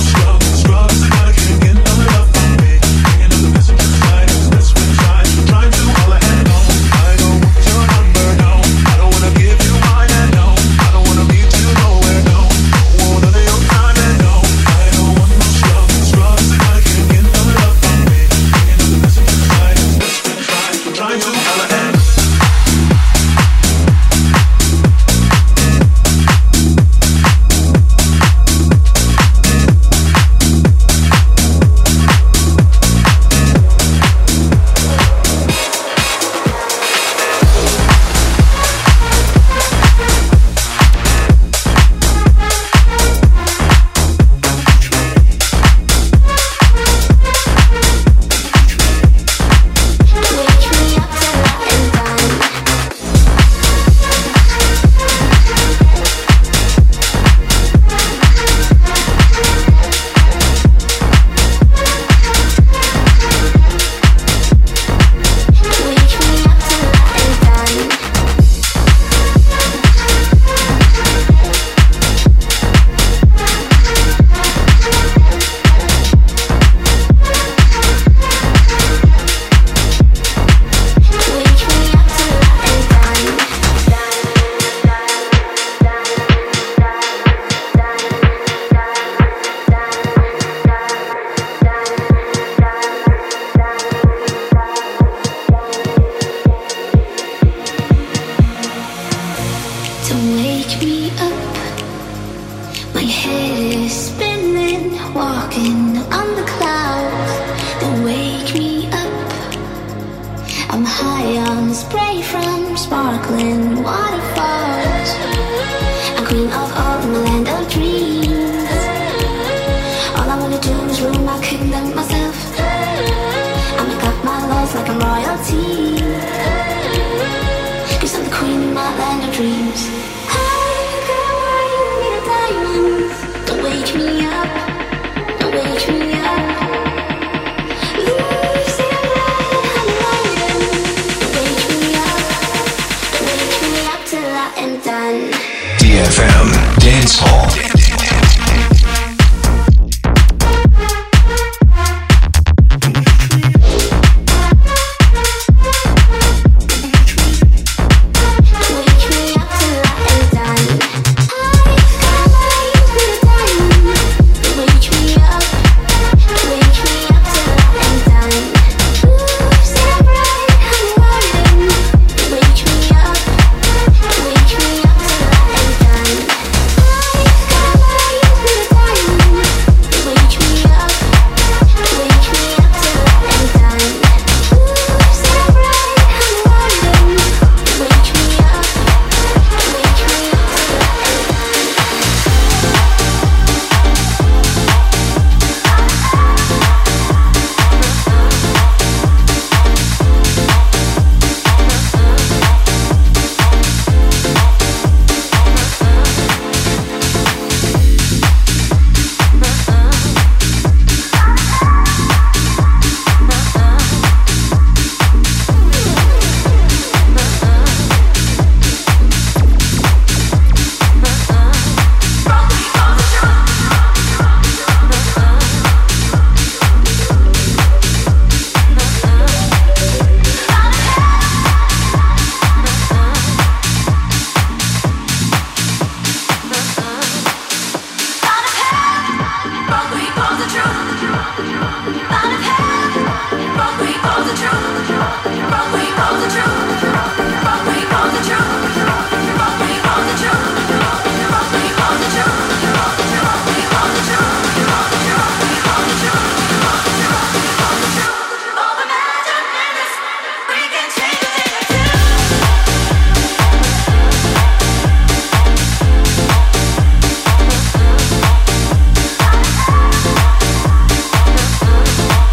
We'll be right back.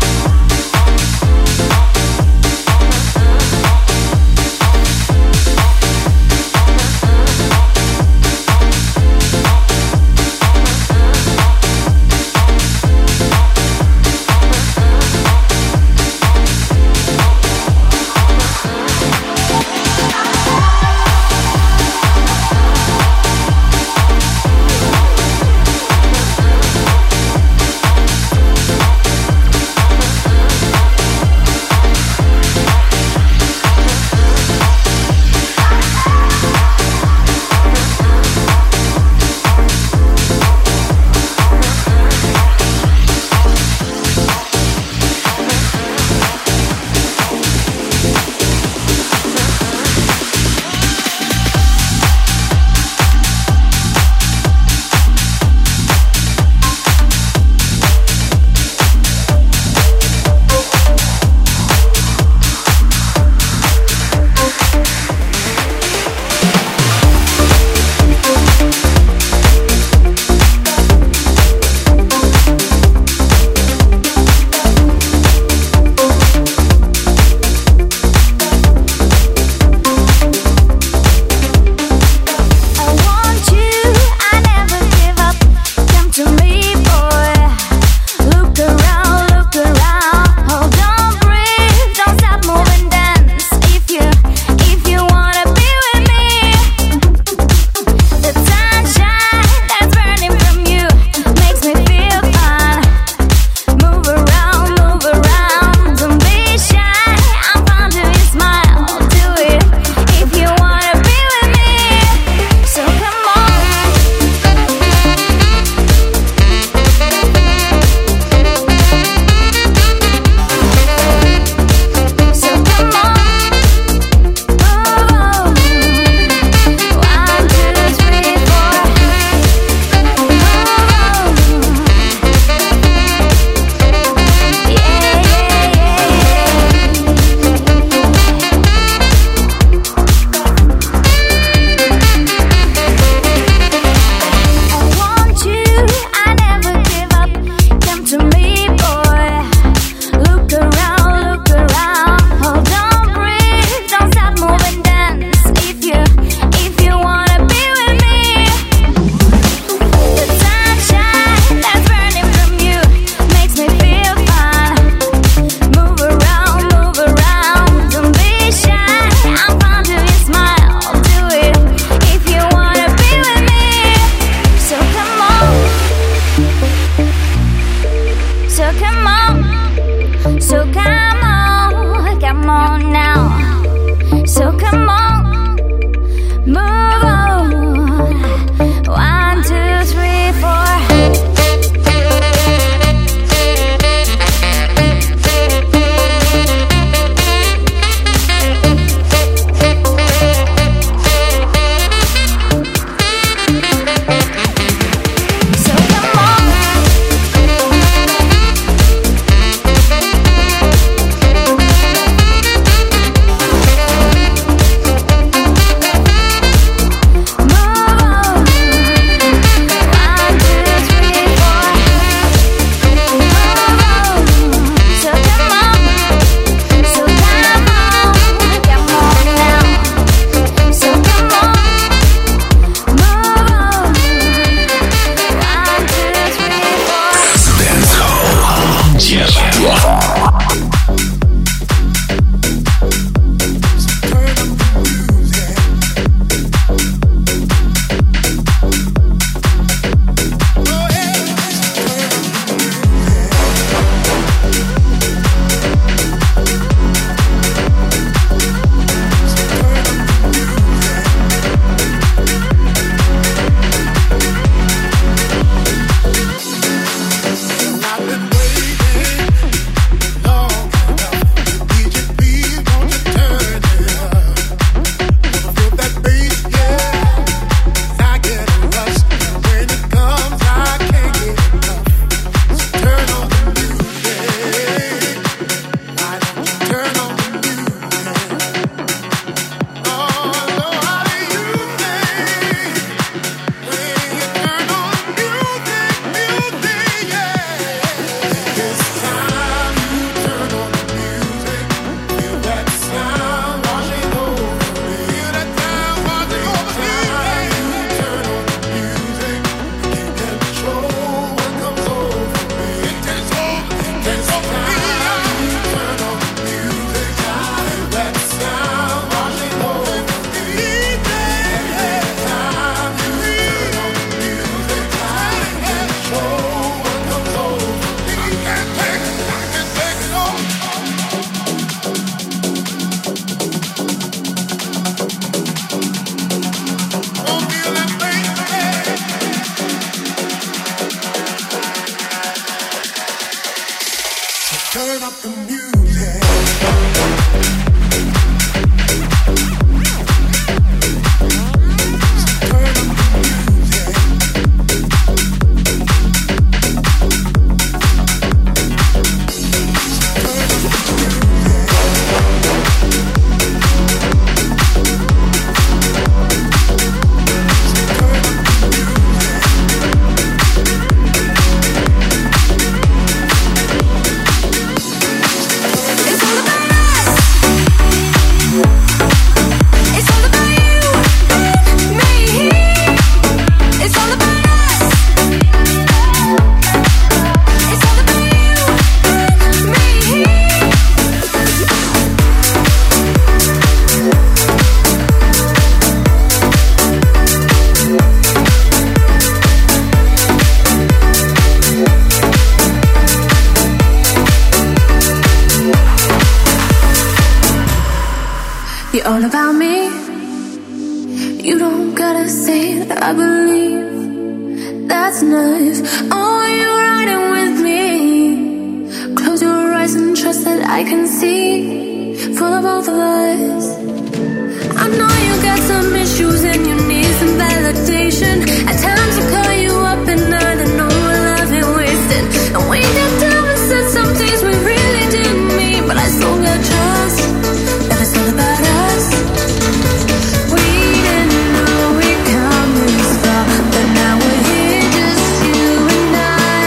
You're all about me. You don't gotta say it, I believe that's nice. Oh, you're riding with me. Close your eyes and trust that I can see for the both of us. I know you got some issues and you need some validation. At times I call you up and I don't know what love ain't wasted. And we got down and said some things we really didn't mean, but I still got trust that it's all about us. We didn't know we'd come this far, but now we're here, just you and I.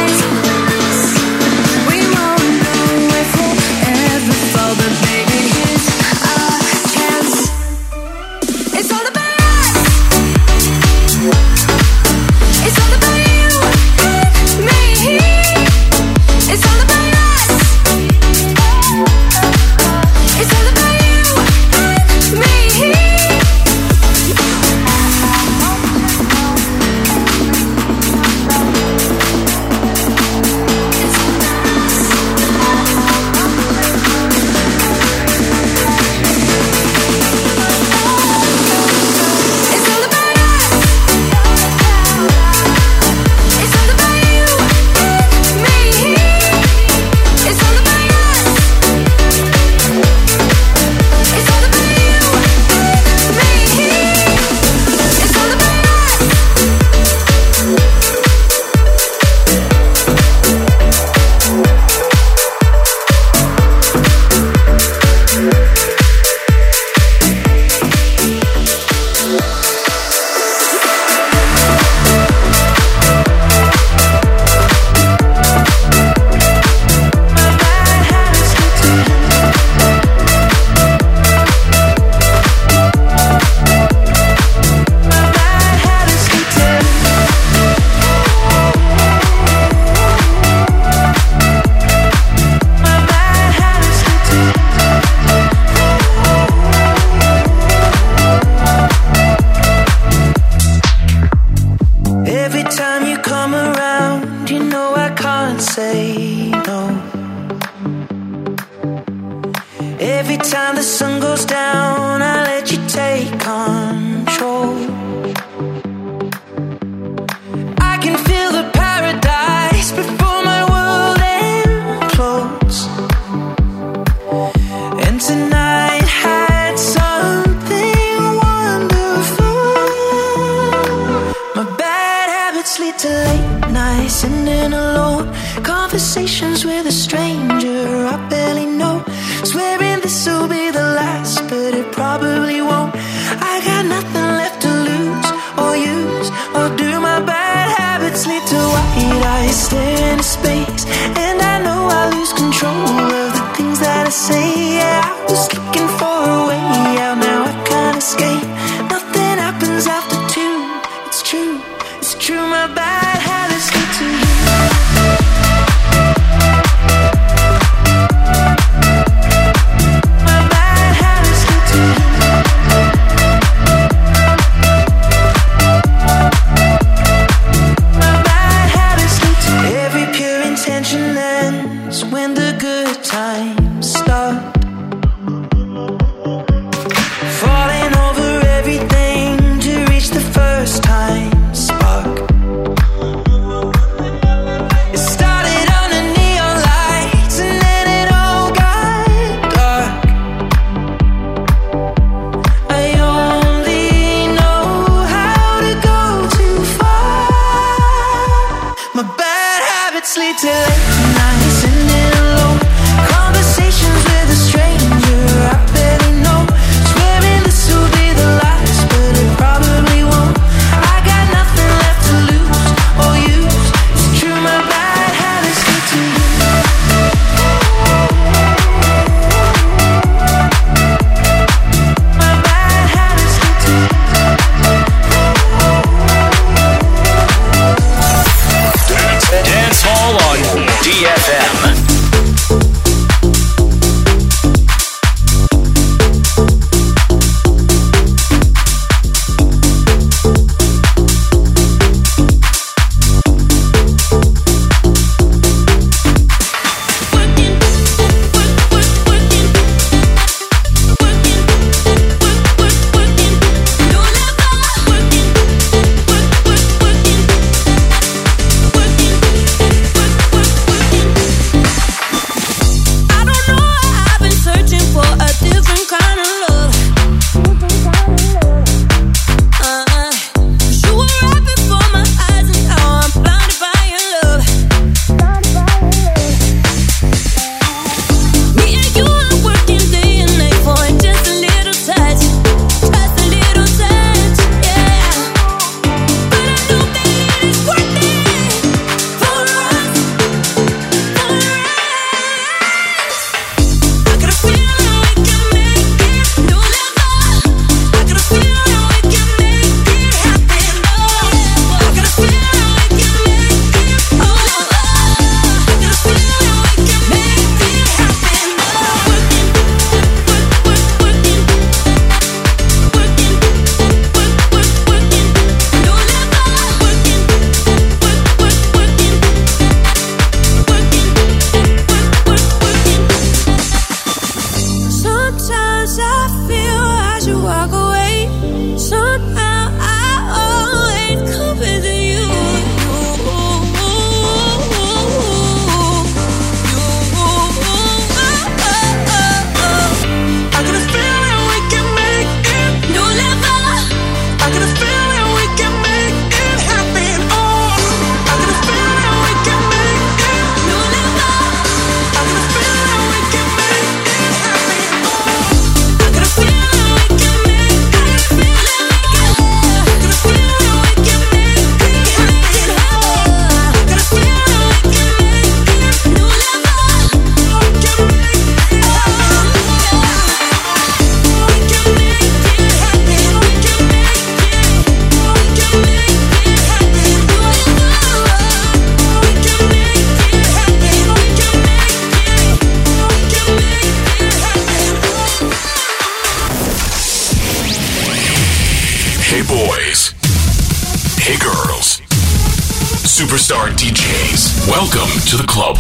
We won't know if we'll ever fall, but baby, here's our chance. It's all about us. It's all about you and me. It's all about us. It's all about you and me. Every time you come around, you know I can't say no. Every time the sun goes down, I let you take control. I can feel the paradise before my world implodes. And tonight had something wonderful. My bad habits lead to late nights, sitting alone. Conversations with a stranger I barely know. Swearing this will be the last, but it probably won't. I got nothing left to lose or use or do. My bad habits lead to white eyes staring into space, and I know I lose control of the things that I say. Yeah, I was looking for a way out, now I can't escape. Nothing happens after two. It's true, it's true. My bad habits lead to you. When the good times start, falling over everything to reach the first time spark. It started under neon lights and then it superstar ди джейс. Welcome to the club.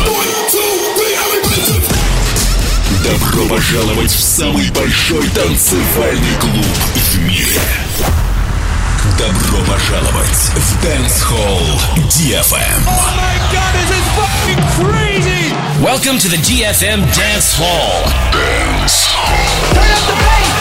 Добро пожаловать в самый большой танцевальный клуб в мире. Добро пожаловать в Dance Hall ди эф эм. Oh my God, this is fucking crazy! Welcome to the ди эф эм Dance Hall. Dance Hall. Turn up the bass!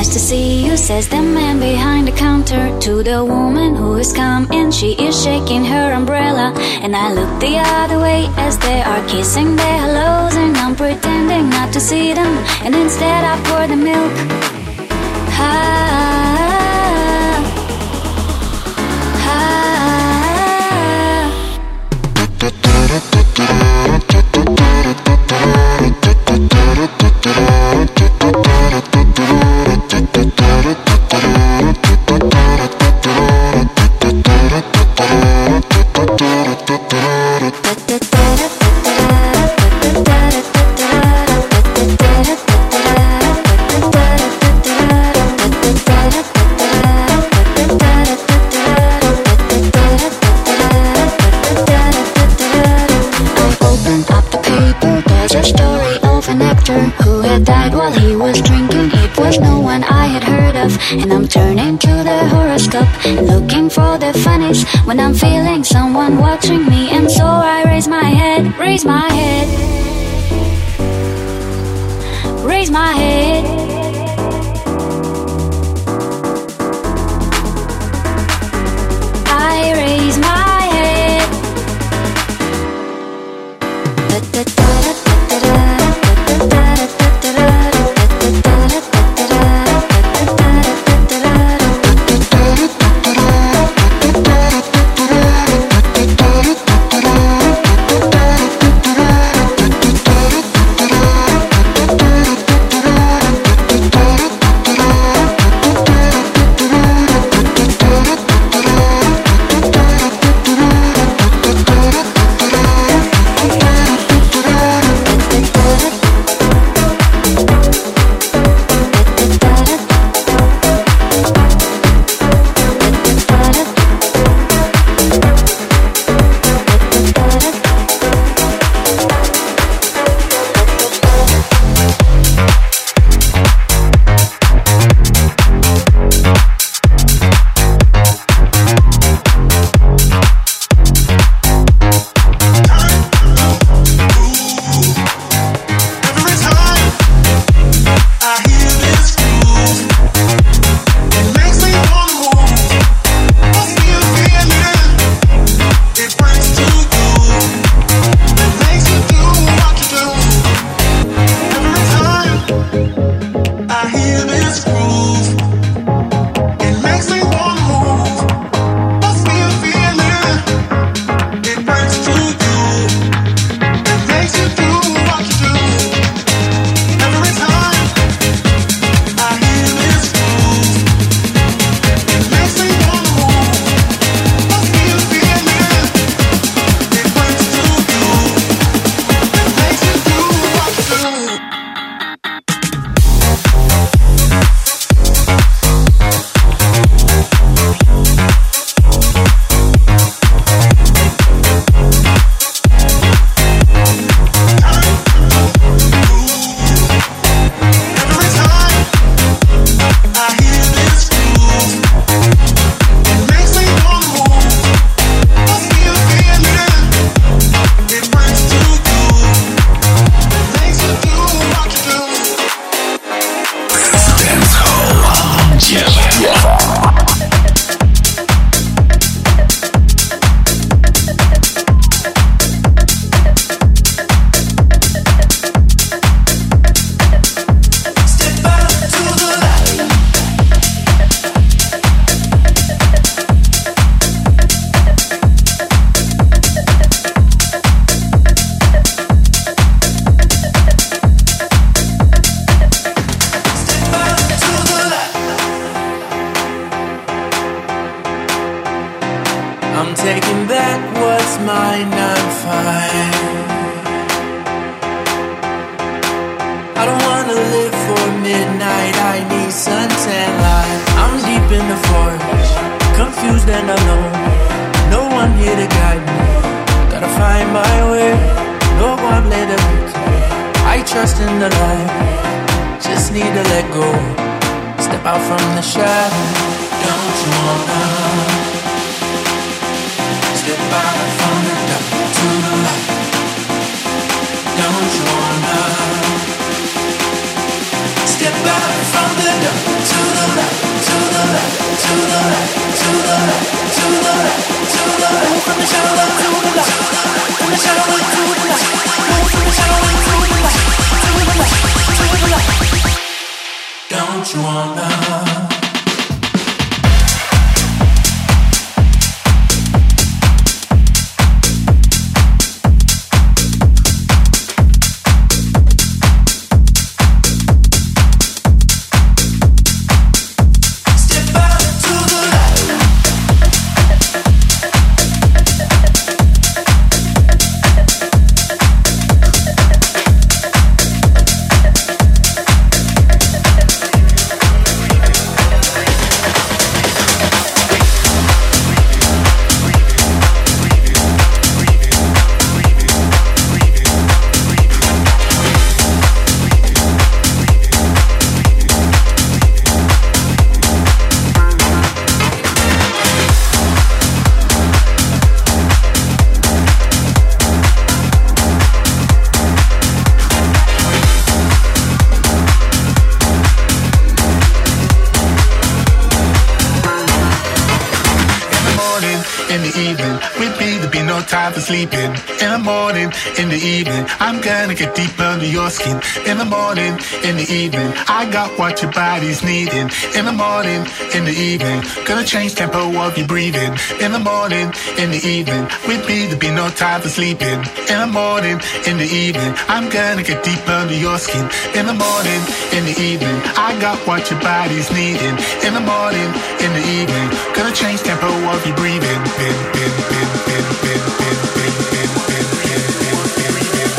to see you, says the man behind the counter. To the woman who has come in, she is shaking her umbrella. And I look the other way as they are kissing their hellos, and I'm pretending not to see them, and instead I pour the milk. Ah, who had died while he was drinking. It was no one I had heard of. And I'm turning to the horoscope, looking for the funnies when I'm feeling someone watching me. And so I raise my head, raise my head, raise my head. I raise my head. Step out from the dark to Don't you wanna? Time for sleeping. In the morning, in the evening, I'm gonna get deep under your skin. In the morning, in the evening, I got what your body's needing. In the morning, in the evening, gonna change tempo of your breathing. In the morning, in the evening, with me there'll be no time for sleeping. In the morning, in the evening, I'm gonna get deep under your skin. In the morning, in the evening, I got what your body's needing. In the morning, in the evening, gonna change tempo of your breathing. Bin, bin, bin, bin, bin, bin, bin, bin, bin, bin, bin, bin, bin.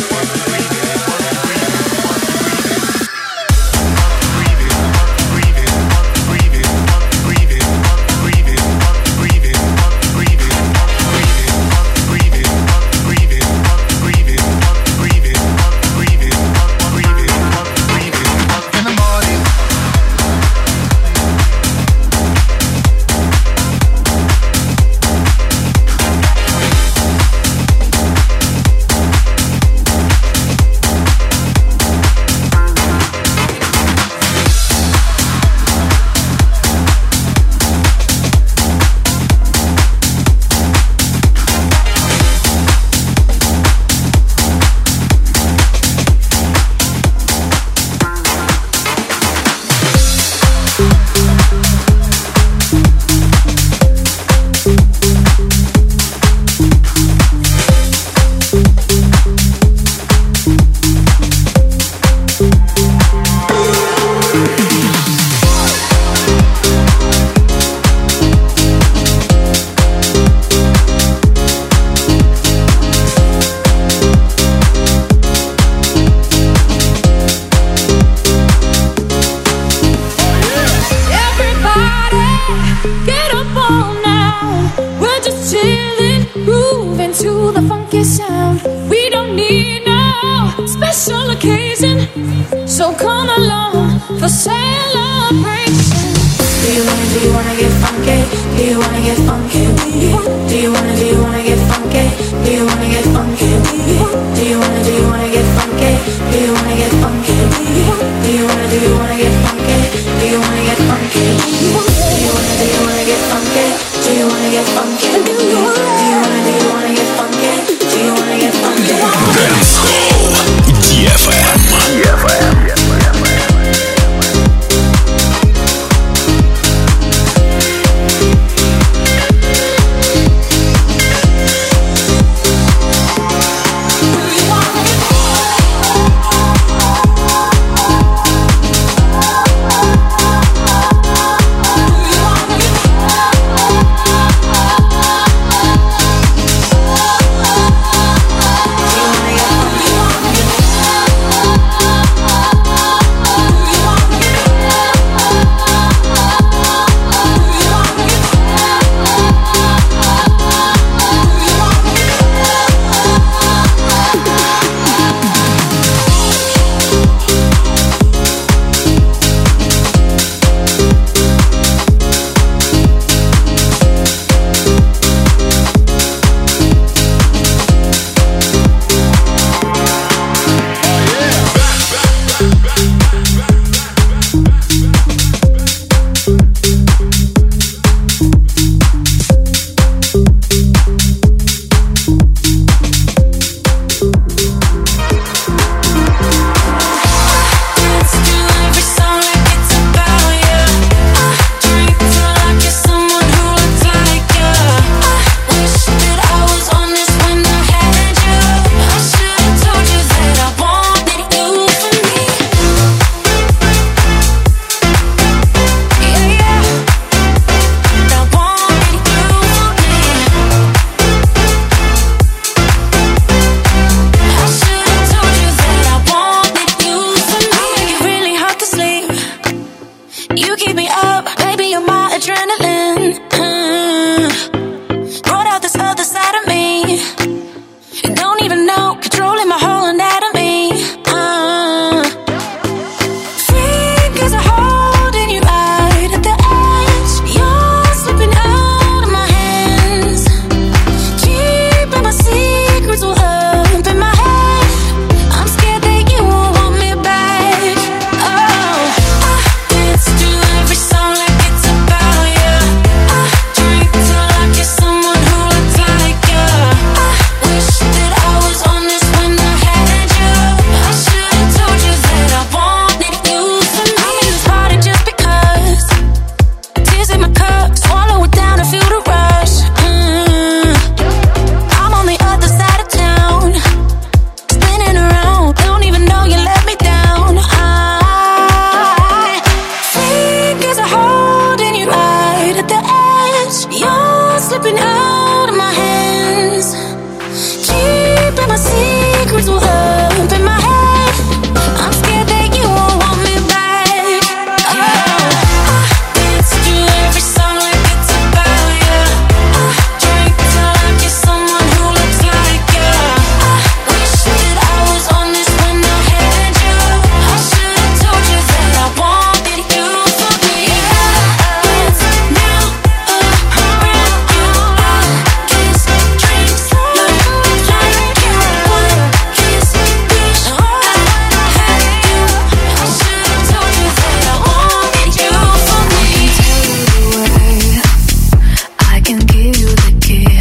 You keep me up, baby, you're my adrenaline. Mm. Brought out this other side of me. You don't even know, controlling my whole anatomy. Uh. Fingers are holding you right at the edge. You're slipping out of my hands. Keeping my secrets all up in my head. I'm scared that you won't want me back. Oh, I dance to every song like it's about you. I drink till I kiss someone who looks like you. I wish that I was on this when I had you. I should've told you that I wanted you for me. I'm in this party just because. Tears in my cup, swallow it down and feel the rush. Mm. I'm on the other side of town, spinning around, don't even know you let me down. I fingers are holding you right at the edge. You're slipping out of my hands. Keeping my secrets all up in my head. I'm scared that you won't want me back. Oh, I dance to every song like it's about you. I drink till I kiss someone who looks like you. I wish that I was on this when I had you. I should've told you that I wanted you for me. Dance now around you. I kiss, drink, look like you. One kiss, wish I had you. I should've told you that I wanted you for me. I can give you the key.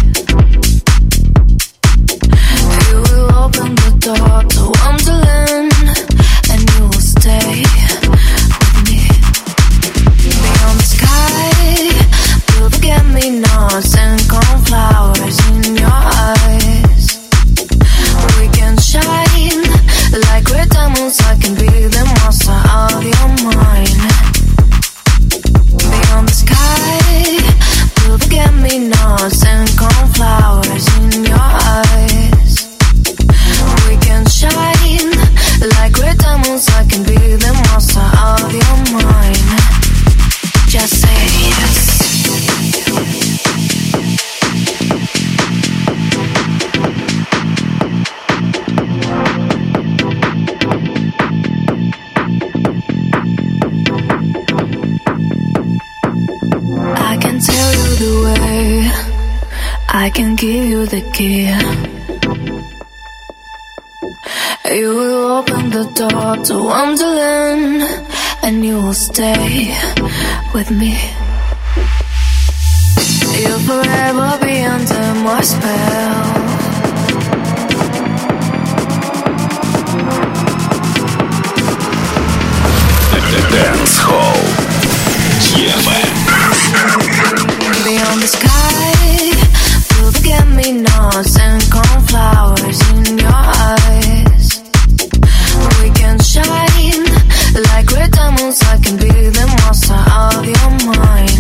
You will open the door to Wonderland, and you will stay with me. Beyond the sky, you'll forget me nots and cornflowers in your eyes. We can shine like red diamonds. I can be the monster of your mind. Beyond the sky, you'll forget me nots and cornflowers in your eyes. We can shine like red diamonds. I can be the monster of your mind. Just say yes. I can tell you the way. I can give you the key. You will open the door to Wonderland, and you will stay with me. You'll forever be under my spell. Dance Hall. Beyond the sky, you'll forget me nots and cornflowers in your eyes. We can shine like red diamonds. I can be the monster of your mind.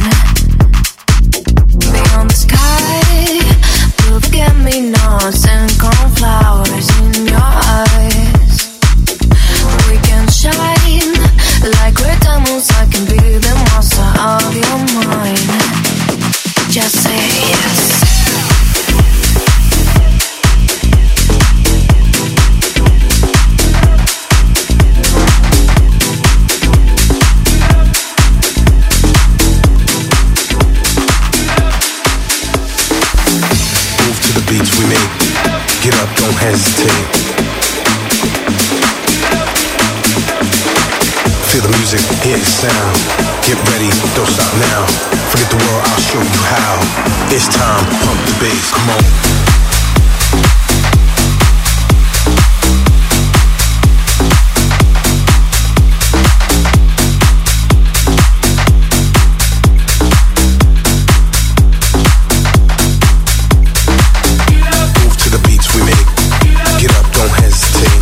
Beyond the sky, you'll forget me nots and cornflowers in your eyes. We can shine like red diamonds. I can be the monster of your mind. Just say yes. Move to the beats we make. Get up, don't hesitate. Feel the music, hear the sound. Get ready, don't stop now. Forget the world, I'll show you how. It's time, pump the bass, come on. Move to the beats we make. Get up, don't hesitate.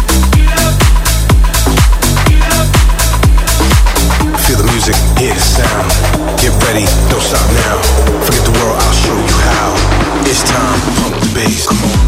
Feel the music, hear the sound. Get ready, don't stop now. Forget the world, I'll show you how. It's time, pump the bass, come on.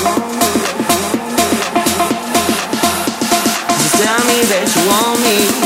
tell me that you want me.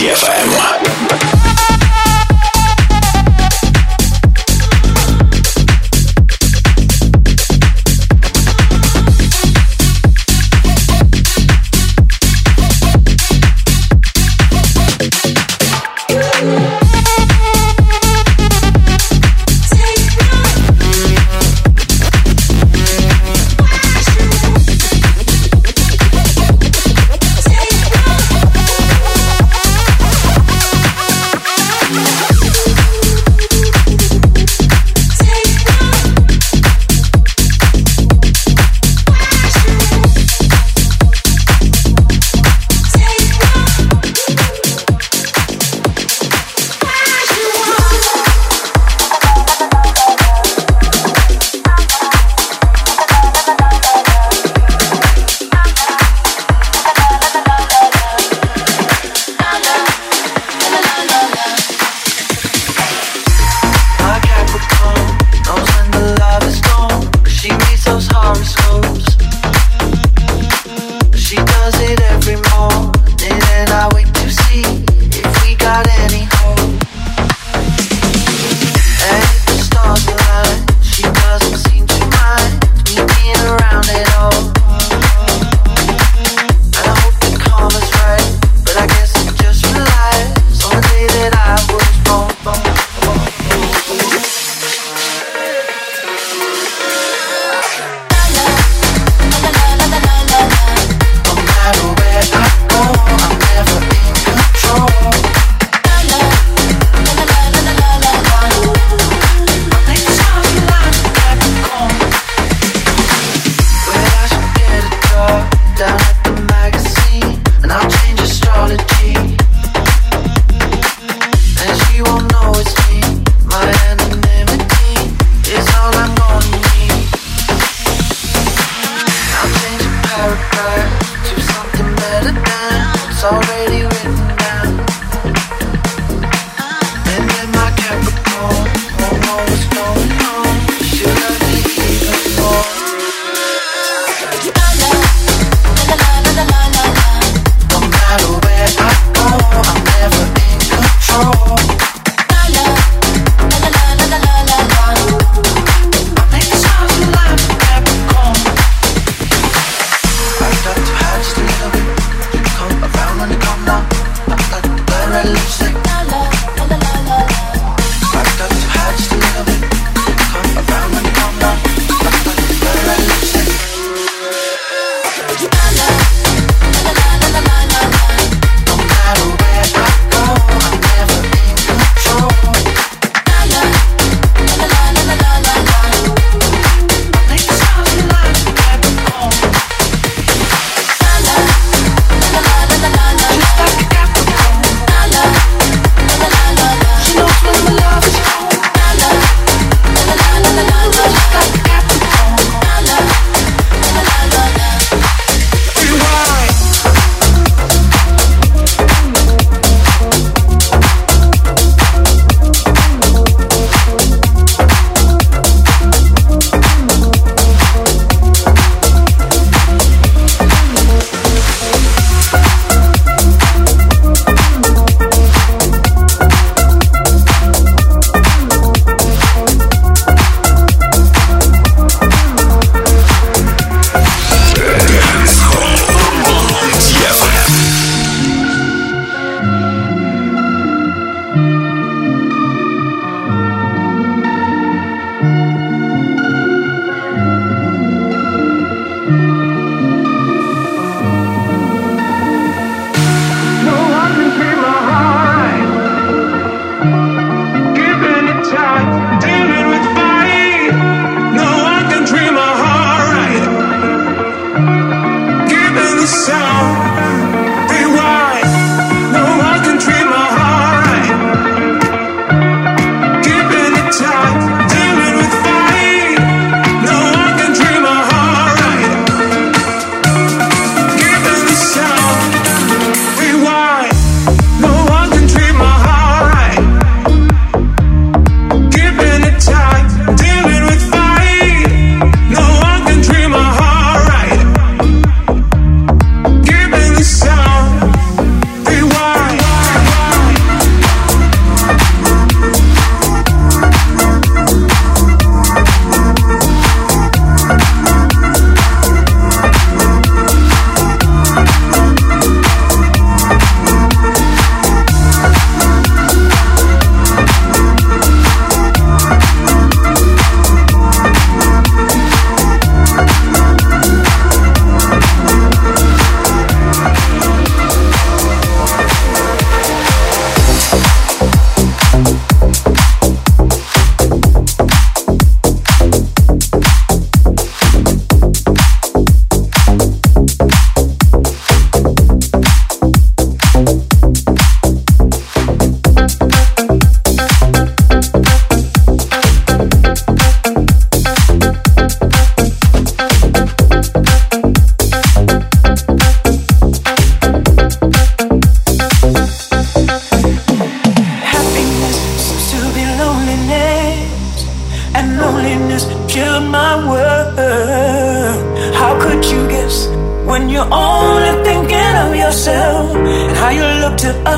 ди эф эм. Take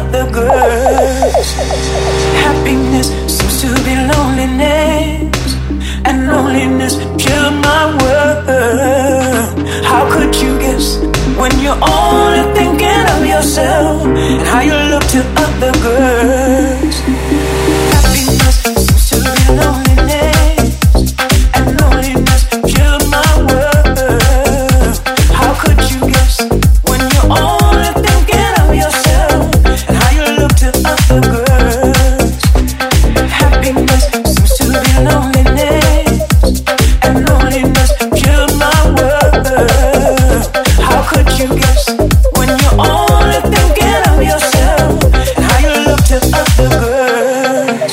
other girls. Happiness seems to be loneliness, and loneliness killed my world. How could you guess when you're only thinking of yourself and how you look to other girls? Happiness seems to be loneliness, and loneliness killed my world. How could you guess when you're only thinking of yourself and how you look to other girls? Happiness seems to be loneliness, and loneliness killed my world. How could you guess when you're only thinking of yourself and how you look to other girls?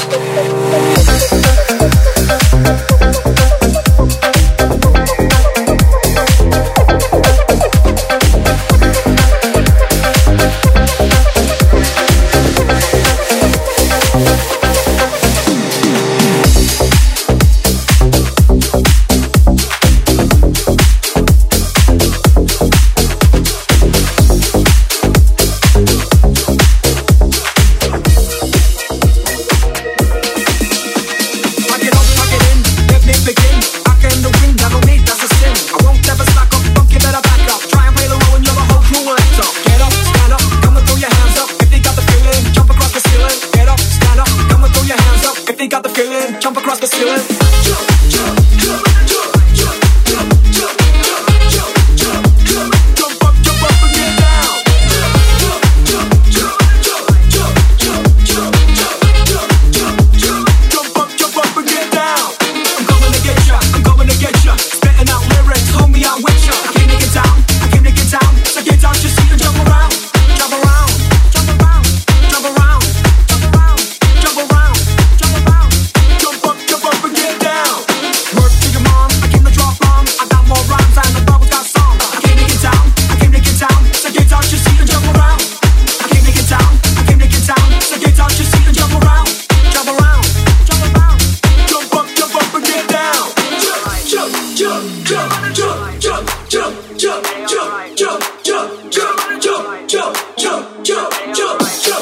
jump, jump, jump, jump, jump, jump, jump, jump, jump, jump.